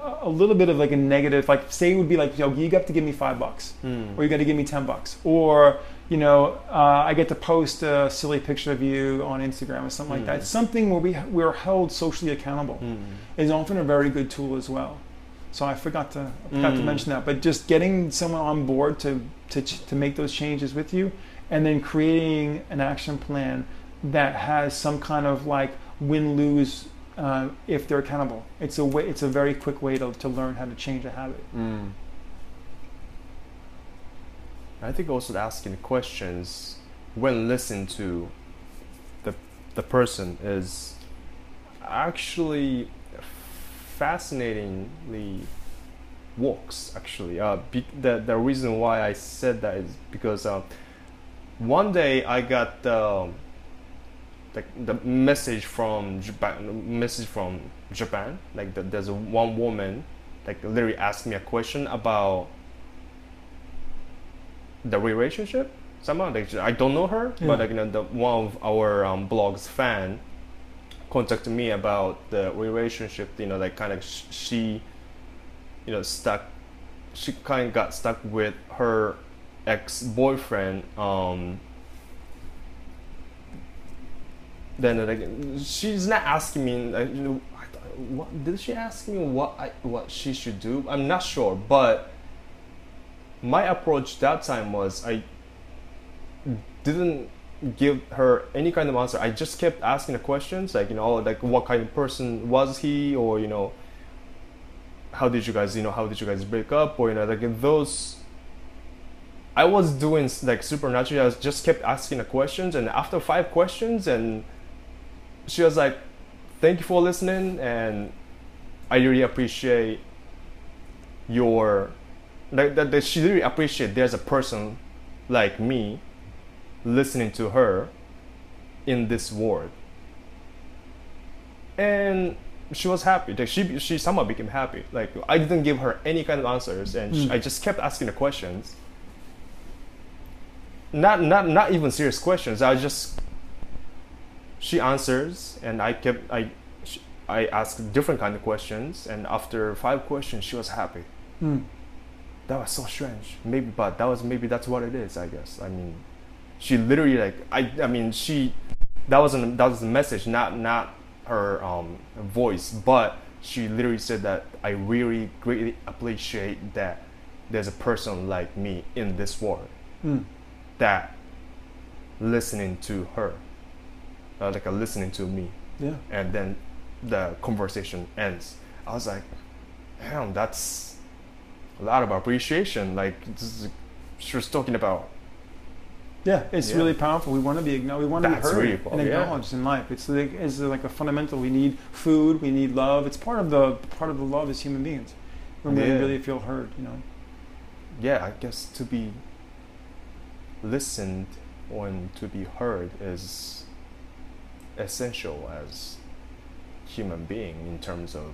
S2: a little bit of like a negative, like say it would be like, you got to give me $5, or you got to give me $10, or I get to post a silly picture of you on Instagram or something like that. Something where we're held socially accountable is often a very good tool as well. So I forgot to mention that, but just getting someone on board to make those changes with you, and then creating an action plan that has some kind of like win-lose if they're accountable. It's a very quick way to learn how to change a habit.
S3: I think also asking questions when listening to the person is actually fascinatingly works. Actually, the reason why I said that is because one day I got the message from Japan. Like there's one woman like literally asked me a question about the relationship. Somehow, like, I don't know her, but like one of our blog's fan contacted me about the relationship. Like kind of she stuck. She kind of got stuck with her ex-boyfriend. Then like she's not asking me. What did she ask me? What she should do? I'm not sure, but my approach that time was I didn't give her any kind of answer. I just kept asking the questions, like like what kind of person was he, or how did you guys break up, or like those. I was doing like supernaturally. I just kept asking the questions, and after 5 questions, and she was like, "Thank you for listening, and I really appreciate your." That she really appreciates there's a person like me listening to her in this world, and she was happy. Like she somehow became happy. Like I didn't give her any kind of answers, and I just kept asking the questions. Not even serious questions. She answers, and I asked different kind of questions, and after 5 questions, she was happy. That was so strange. Maybe that's what it is. I guess. I mean, she literally like that was the message, not her voice, but she literally said that I really greatly appreciate that there's a person like me in this world that listening to her, listening to me.
S2: Yeah.
S3: And then the conversation ends. I was like, damn, that's a lot of appreciation. Like she was talking about.
S2: Yeah, it's really powerful. We want to be heard
S3: really
S2: and acknowledged in life. It's like a fundamental. We need food. We need love. It's part of the love as human beings. When we really feel heard,
S3: Yeah, I guess to be listened and to be heard is essential as human being in terms of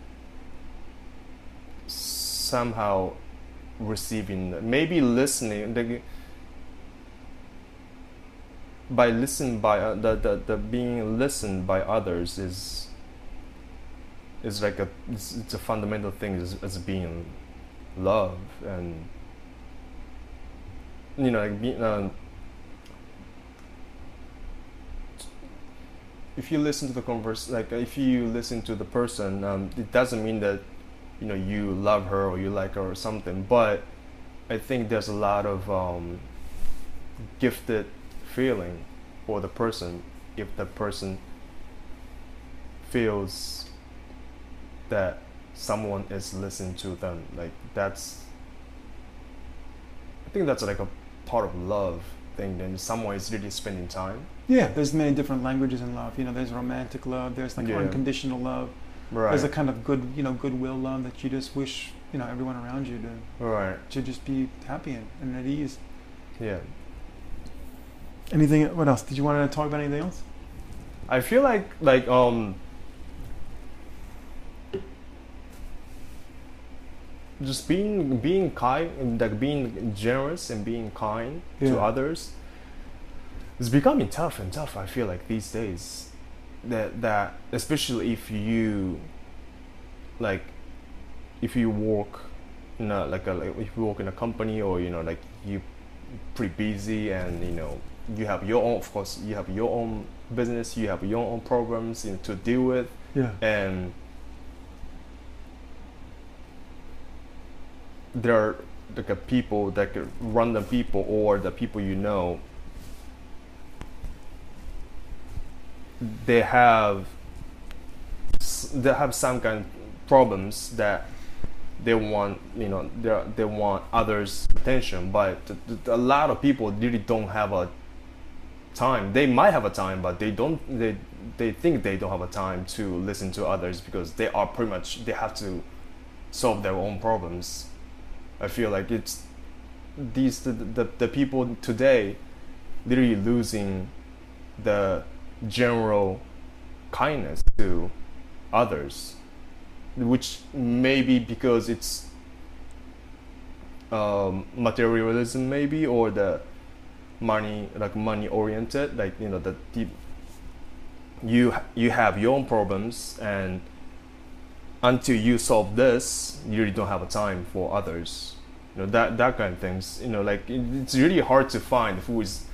S3: somehow receiving, maybe listening. The being listened by others is like it's a fundamental thing as being love, and like being if you listen to the if you listen to the person, it doesn't mean that you love her or you like her or something, but I think there's a lot of gifted feeling for the person if the person feels that someone is listening to them. Like I think that's like a part of love thing. Then someone is really spending time.
S2: Yeah, there's many different languages in love. There's romantic love. There's like unconditional love.
S3: Right.
S2: There's a kind of goodwill love that you just wish everyone around you to just be happy and at ease.
S3: Yeah.
S2: Anything? What else? Did you want to talk about anything else?
S3: I feel like just being kind, like being generous and being kind to others is becoming tough and tough. I feel like these days, that especially if you like if you work in a, like if you work in a company, or like you pretty busy, and you have your own, of course you have your own business, you have your own problems to deal with.
S2: Yeah.
S3: And there are like a people that could random people, or the people they have some kind of problems that they want, they want others' attention, but a lot of people really don't have a time. They might have a time, but they don't. They think they don't have a time to listen to others, because they are pretty much, they have to solve their own problems. I feel like it's the people today literally losing the general kindness to others, which maybe because it's materialism, maybe, or the money oriented, like you have your own problems, and until you solve this, you really don't have a time for others. That kind of things. Like it's really hard to find who is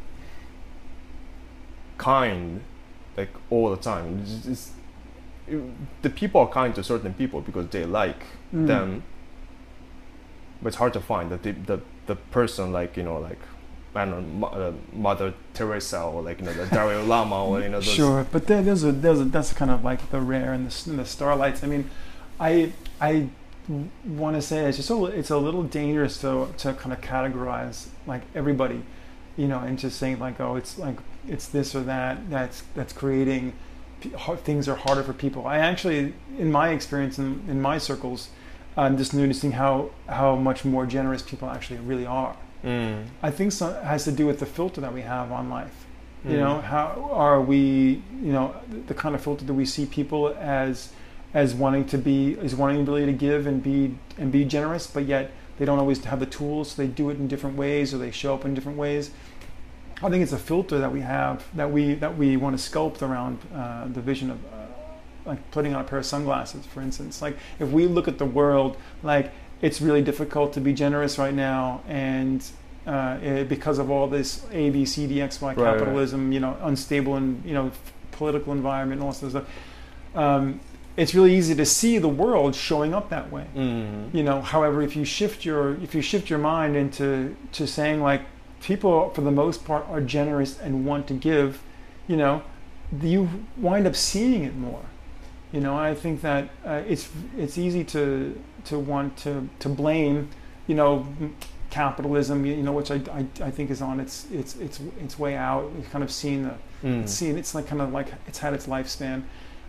S3: kind, like all the time. The people are kind to certain people because they like them, but it's hard to find the person, like like, I don't know, Mother Teresa, or like the Dalai Lama, or those.
S2: Sure, but that's kind of like the rare and the starlights. I mean, I want to say it's a little dangerous to kind of categorize like everybody, and just saying like, oh, it's like it's this or that's creating things are harder for people. I actually, in my experience, in my circles, I'm just noticing how much more generous people actually really are. I think it has to do with the filter that we have on life. How are we, the kind of filter that we see people as wanting ability to give and be generous, but yet they don't always have the tools, so they do it in different ways, or they show up in different ways. I think it's a filter that we have that we want to sculpt around the vision of like putting on a pair of sunglasses, for instance. Like if we look at the world, like it's really difficult to be generous right now, and because of all this A, B, C, D, X, Y capitalism, unstable and political environment, and all sorts of stuff. It's really easy to see the world showing up that way. However, if you shift your mind into saying like, people for the most part are generous and want to give, you wind up seeing it more. I think that it's easy to want to blame, capitalism, which I think is on its way out. We've kind of seen it's like kind of like it's had its lifespan.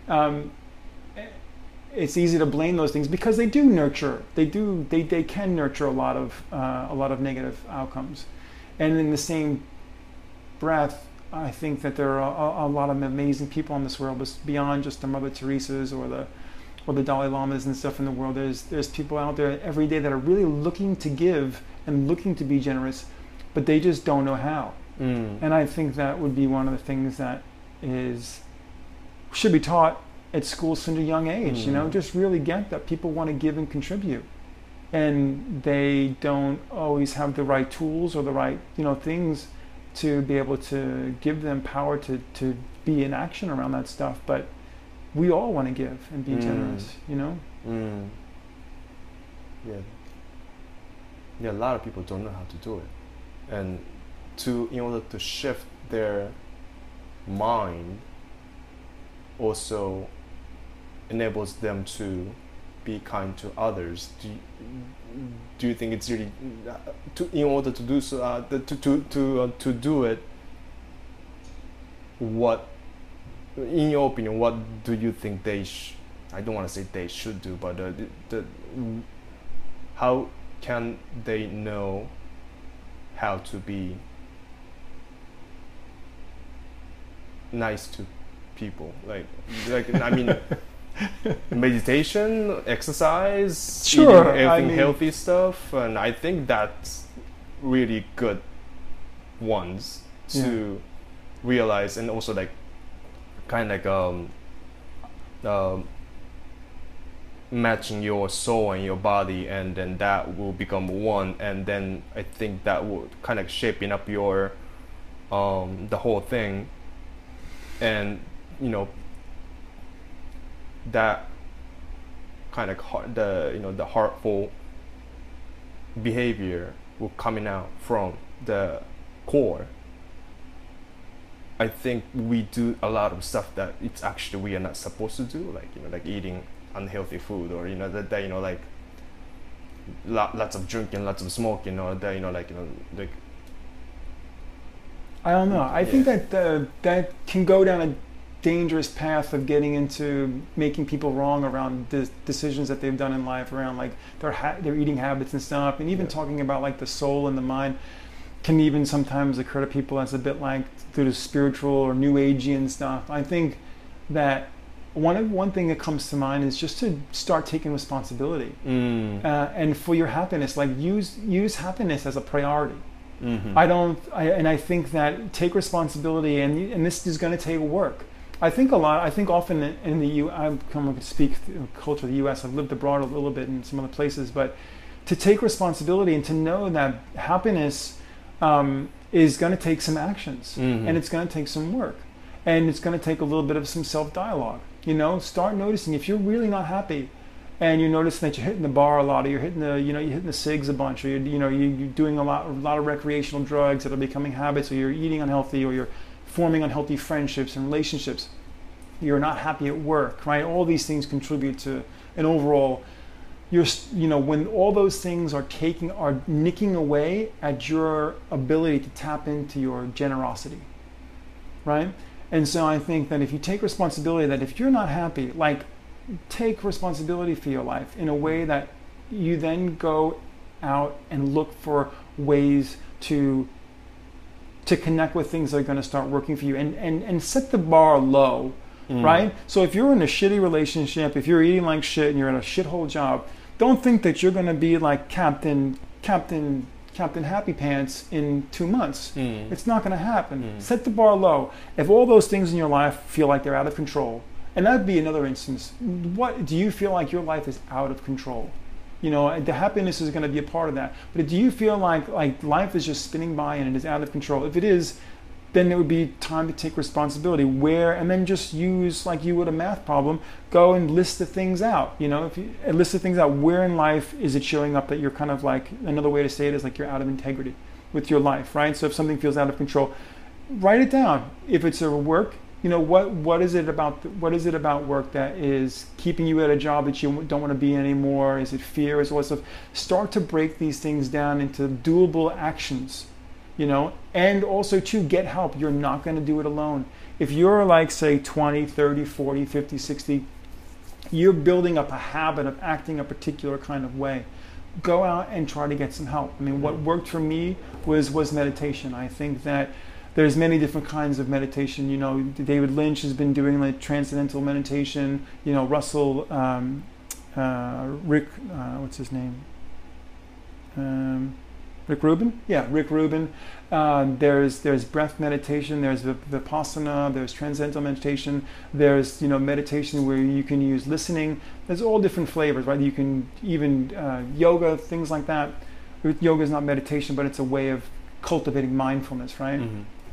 S2: It's easy to blame those things because they can nurture a lot of negative outcomes. And in the same breath, I think that there are a lot of amazing people in this world, but beyond just the Mother Teresa's or the Dalai Lamas and stuff in the world. There's people out there every day that are really looking to give and looking to be generous, but they just don't know how. And I think that would be one of the things that should be taught at school since a young age. Just really get that people want to give and contribute. And they don't always have the right tools or the right things to be able to give them power to be in action around that stuff. But we all want to give and be generous,
S3: Yeah, a lot of people don't know how to do it, and in order to shift their mind, also enables them to be kind to others. Do you think it's really in order to do so, to do it? What, in your opinion, what do you think they? I don't want to say they should do, but how can they know how to be nice to people? Like I mean. Meditation, exercise,
S2: sure,
S3: eating healthy stuff, and I think that's really good ones to realize, and also like kind of like matching your soul and your body, and then that will become one, and then I think that will kind of shaping up your the whole thing, and you know that kind of the heartful behavior will coming out from the core. I think we do a lot of stuff that it's actually we are not supposed to do, like like eating unhealthy food, or that like lots of drinking, lots of smoking, or that like
S2: I don't know. I think that that can go down a dangerous path of getting into making people wrong around the decisions that they've done in life, around like their eating habits and stuff, and even talking about like the soul and the mind can even sometimes occur to people as a bit like through the spiritual or new agey and stuff. I think that one thing that comes to mind is just to start taking responsibility and for your happiness, like use happiness as a priority.
S3: Mm-hmm.
S2: I think that take responsibility, and this is going to take work. I think often in the U. I'm coming to speak culture of the U.S. I've lived abroad a little bit in some other places, but to take responsibility and to know that happiness is going to take some actions, and it's going to take some work, and it's going to take a little bit of some self-dialogue. Start noticing if you're really not happy, and you're noticing that you're hitting the bar a lot, or you're hitting the cigs a bunch, or you're doing a lot of recreational drugs that are becoming habits, or you're eating unhealthy, or you're forming unhealthy friendships and relationships. You're not happy at work, right? All these things contribute to an overall. When all those things are nicking away at your ability to tap into your generosity, right? And so I think that if you take responsibility, that if you're not happy, like take responsibility for your life in a way that you then go out and look for ways to connect with things that are going to start working for you, and set the bar low, right? So if you're in a shitty relationship, if you're eating like shit and you're in a shithole job, don't think that you're going to be like Captain Happy Pants in 2 months. It's not going to happen. Set the bar low. If all those things in your life feel like they're out of control, and that'd be another instance. What do you feel like your life is out of control? The happiness is going to be a part of that. But do you feel like life is just spinning by and it is out of control? If it is, then it would be time to take responsibility. And then just use, like you would a math problem, go and list the things out. If you list the things out, where in life is it showing up that you're kind of like, another way to say it is like you're out of integrity with your life, right? So if something feels out of control, write it down. If it's a work, what is it about work that is keeping you at a job that you don't want to be anymore? Is it fear? Is it all stuff? Start to break these things down into doable actions, and also to get help. You're not going to do it alone. If you're like, say, 20, 30, 40, 50, 60, you're building up a habit of acting a particular kind of way. Go out and try to get some help. I mean, what worked for me was meditation. I think that there's many different kinds of meditation. David Lynch has been doing like transcendental meditation. Russell, Rick, what's his name? Rick Rubin? Yeah, Rick Rubin. There's breath meditation. There's Vipassana. There's transcendental meditation. There's meditation where you can use listening. There's all different flavors, right? You can even yoga, things like that. Yoga is not meditation, but it's a way of cultivating mindfulness, right?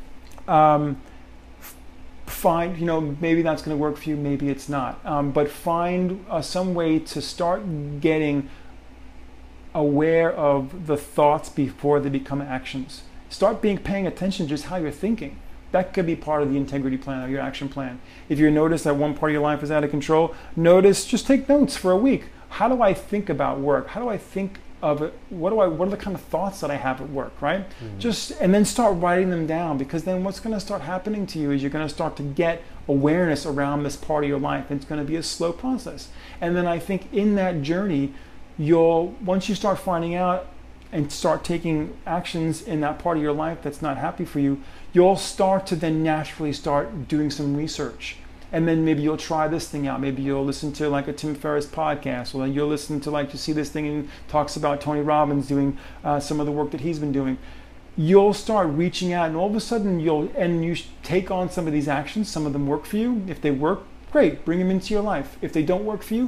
S2: Find, maybe that's going to work for you, maybe it's not. But find some way to start getting aware of the thoughts before they become actions. Start paying attention to just how you're thinking. That could be part of the integrity plan or your action plan. If you notice that one part of your life is out of control, just take notes for a week. How do I think about work? How do I think of it? What are the kind of thoughts that I have at work, right? And then start writing them down, because then what's going to start happening to you is you're going to start to get awareness around this part of your life. It's going to be a slow process. And then I think in that journey, once you start finding out and start taking actions in that part of your life that's not happy for you, you'll start to then naturally start doing some research. And then maybe you'll try this thing out. Maybe you'll listen to like a Tim Ferriss podcast, or you'll listen to to see this thing and talks about Tony Robbins doing some of the work that he's been doing. You'll start reaching out, and all of a sudden you take on some of these actions. Some of them work for you. If they work, great, bring them into your life. If they don't work for you,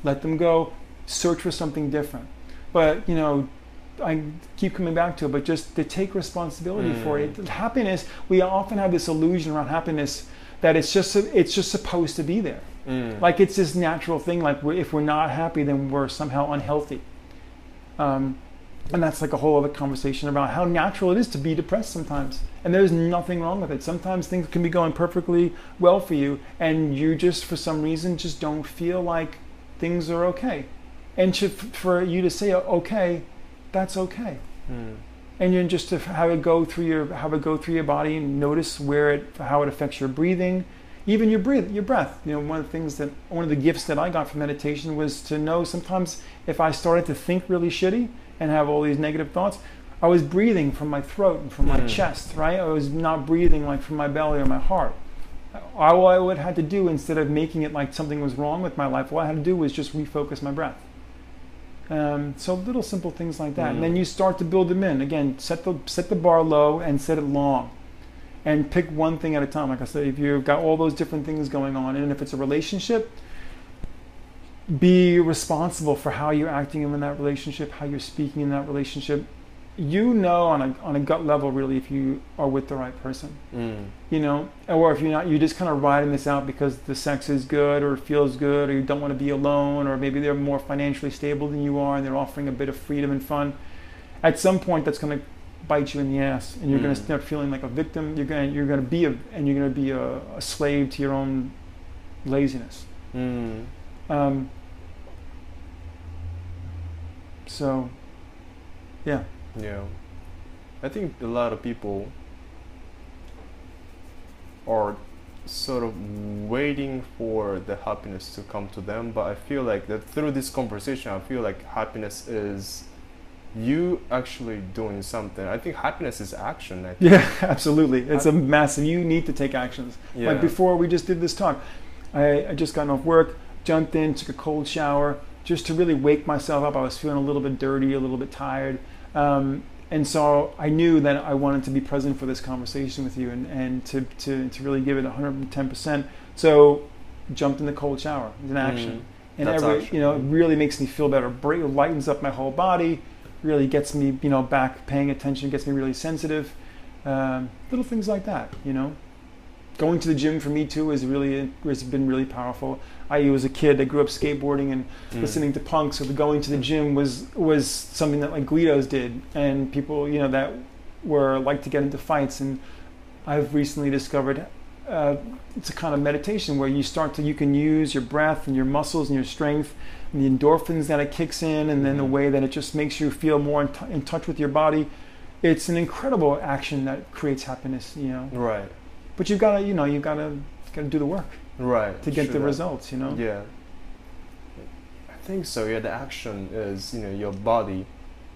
S2: let them go, search for something different. But, you know, I keep coming back to it, but just to take responsibility for it. Happiness, we often have this illusion around happiness that it's just supposed to be there. Like it's this natural thing, like if we're not happy, then we're somehow unhealthy. And that's like a whole other conversation about how natural it is to be depressed sometimes. And there's nothing wrong with it. Sometimes things can be going perfectly well for you, and you just, for some reason, just don't feel like things are okay. And for you to say, okay, that's okay. And you just to have it go through your body and notice how it affects your breathing, even your breath. You know, one of the gifts that I got from meditation was to know sometimes if I started to think really shitty and have all these negative thoughts, I was breathing from my throat and from my chest, right? I was not breathing like from my belly or my heart. All I would have to do, instead of making it like something was wrong with my life, all I had to do was just refocus my breath. So little simple things like that. And then you start to build them in. Again, set the bar low and set it long. And pick one thing at a time. Like I said, if you've got all those different things going on, and if it's a relationship, be responsible for how you're acting in that relationship, how you're speaking in that relationship. You know on a gut level, really, if you are with the right person. You know, or if you're not, you're just kind of riding this out because the sex is good or it feels good, or you don't want to be alone, or maybe they're more financially stable than you are and they're offering a bit of freedom and fun. At some point, that's going to bite you in the ass, and you're going to start feeling like a victim. You're going to be a slave to your own laziness. So, yeah.
S3: Yeah, I think a lot of people are sort of waiting for the happiness to come to them, but I feel like that through this conversation, I feel like happiness is you actually doing something. I think happiness is action. I think.
S2: Yeah, absolutely. It's a massive, you need to take actions.
S3: Yeah.
S2: Like before we just did this talk, I just gotten off work, jumped in, took a cold shower, just to really wake myself up. I was feeling a little bit dirty, a little bit tired. And so I knew that I wanted to be present for this conversation with you and to really give it 110%. So jumped in the cold shower. It's an action. And it really makes me feel better. It lightens up my whole body, really gets me, back paying attention, gets me really sensitive. Little things like that, Going to the gym for me too has been really powerful. I was a kid that grew up skateboarding and listening to punk, so going to the gym was something that like Guidos did, and people that were like to get into fights. And I've recently discovered it's a kind of meditation where you can use your breath and your muscles and your strength and the endorphins that it kicks in, and then the way that it just makes you feel more in touch with your body. It's an incredible action that creates happiness.
S3: Right.
S2: But you've got to do the work,
S3: right,
S2: to get the results.
S3: Yeah, I think so. Yeah, the action is your body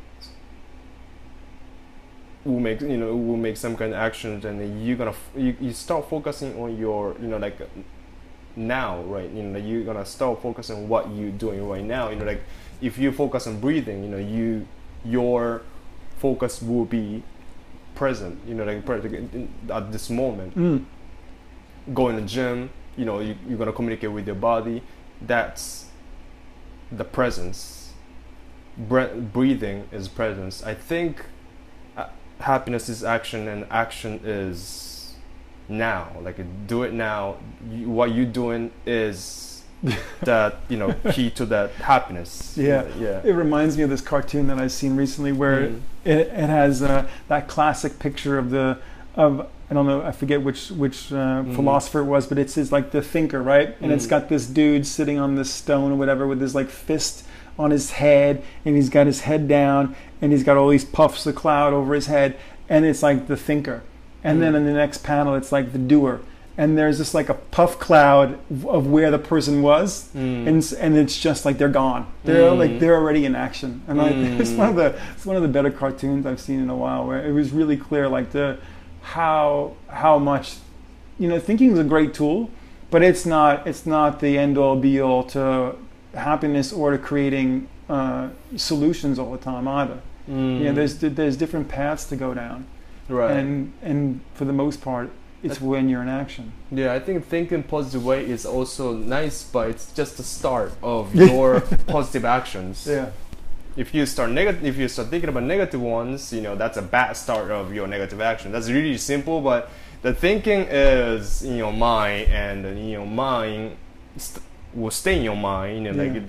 S3: will make some kind of actions, and then you start focusing on your now, right? You're gonna start focusing on what you're doing right now. Like if you focus on breathing, your focus will be present, at this moment. Go in the gym, you're gonna communicate with your body. That's the presence. Breathing is presence. I think happiness is action, and action is now. Like do it now. What you're doing is that key to that happiness.
S2: Yeah. It reminds me of this cartoon that I've seen recently where it has that classic picture of I don't know, I forget which philosopher it was, but it's like the thinker, right? And it's got this dude sitting on this stone or whatever with his like fist on his head, and he's got his head down, and he's got all these puffs of cloud over his head, and it's like the thinker. And then in the next panel, it's like the doer. And there's just like a puff cloud of where the person was, and it's just like they're gone. They're already in action. And it's one of the better cartoons I've seen in a while, where it was really clear like how much thinking is a great tool, but it's not the end all be all to happiness or to creating solutions all the time either. There's different paths to go down,
S3: right?
S2: And for the most part, It's when you're in action.
S3: Yeah, I think thinking positive way is also nice, but it's just the start of your positive actions.
S2: Yeah.
S3: If you start thinking about negative ones, that's a bad start of your negative action. That's really simple, but the thinking is in your mind, and in your mind will stay in your mind.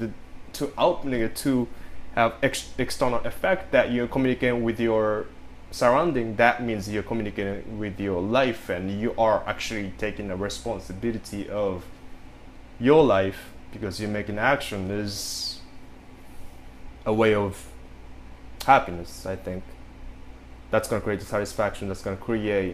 S3: To have external effect that you're communicating with your surrounding. That means you're communicating with your life, and you are actually taking a responsibility of your life, because you're making action is a way of happiness. I think that's going to create satisfaction. That's going to create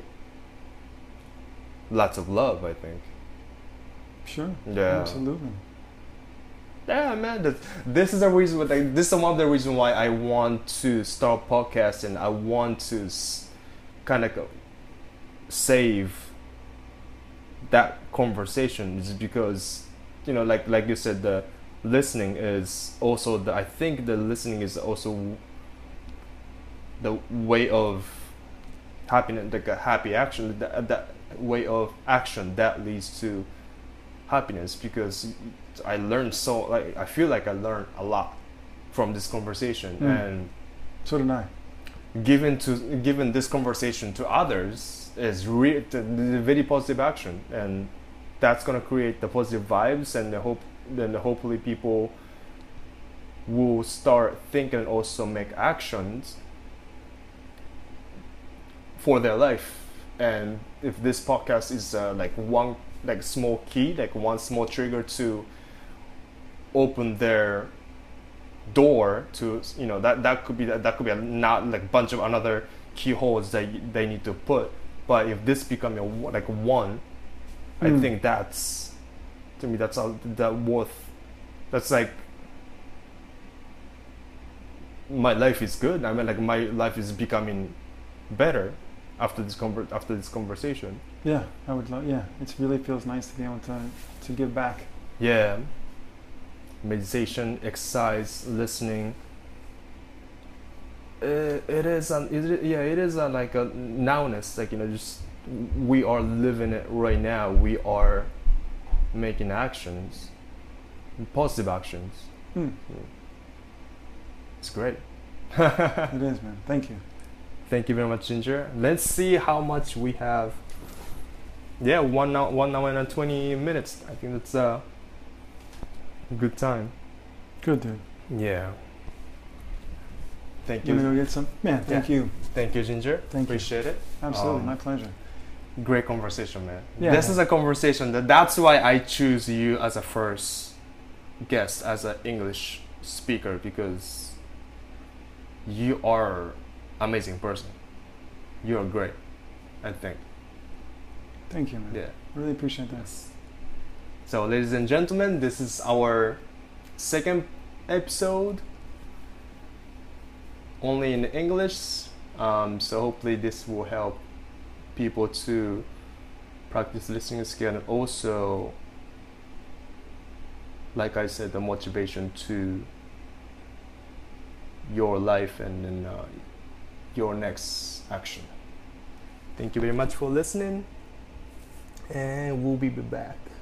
S3: lots of love, I think.
S2: Sure.
S3: Yeah.
S2: Absolutely.
S3: Yeah, man. This is a reason. This is one of the reasons why I want to start podcasting. I want to kind of save that conversation, is because like you said, the listening is also I think the listening is also the way of happiness, like a happy action. That way of action that leads to happiness, because I feel like I learned a lot from this conversation, and
S2: so did I.
S3: Given this conversation to others is the very positive action, and that's gonna create the positive vibes, and hopefully people will start thinking and also make actions for their life. And if this podcast is one small key, one small trigger to open their door to that could be a not like bunch of another keyholes that they need to put. But if this become one, I think that's, to me, that's like my life is good. I mean, my life is becoming better after this conversation.
S2: Yeah, I would love. Yeah, it really feels nice to be able to give back.
S3: Yeah, meditation, exercise, listening. It is a like a nowness. Just we are living it right now. We are making actions, positive actions. It's great.
S2: It is, man. Thank you.
S3: Thank you very much, Ginger. Let's see how much we have. Yeah, 1 hour and 20 minutes. I think that's a good time.
S2: Good, dude.
S3: Yeah. Thank you.
S2: You wanna go get some? Man, thank you.
S3: Thank you, Ginger.
S2: Appreciate
S3: it.
S2: Absolutely, my pleasure.
S3: Great conversation, man.
S2: Yeah.
S3: This is a conversation that's why I choose you as a first guest, as an English speaker, because you are amazing person. You are great, I think.
S2: Thank you, man.
S3: Yeah.
S2: Really appreciate that.
S3: So, ladies and gentlemen, this is our second episode, only in English. So hopefully this will help people to practice listening skill, and also, like I said, the motivation to your life and then your next action. Thank you very much for listening, and we'll be back.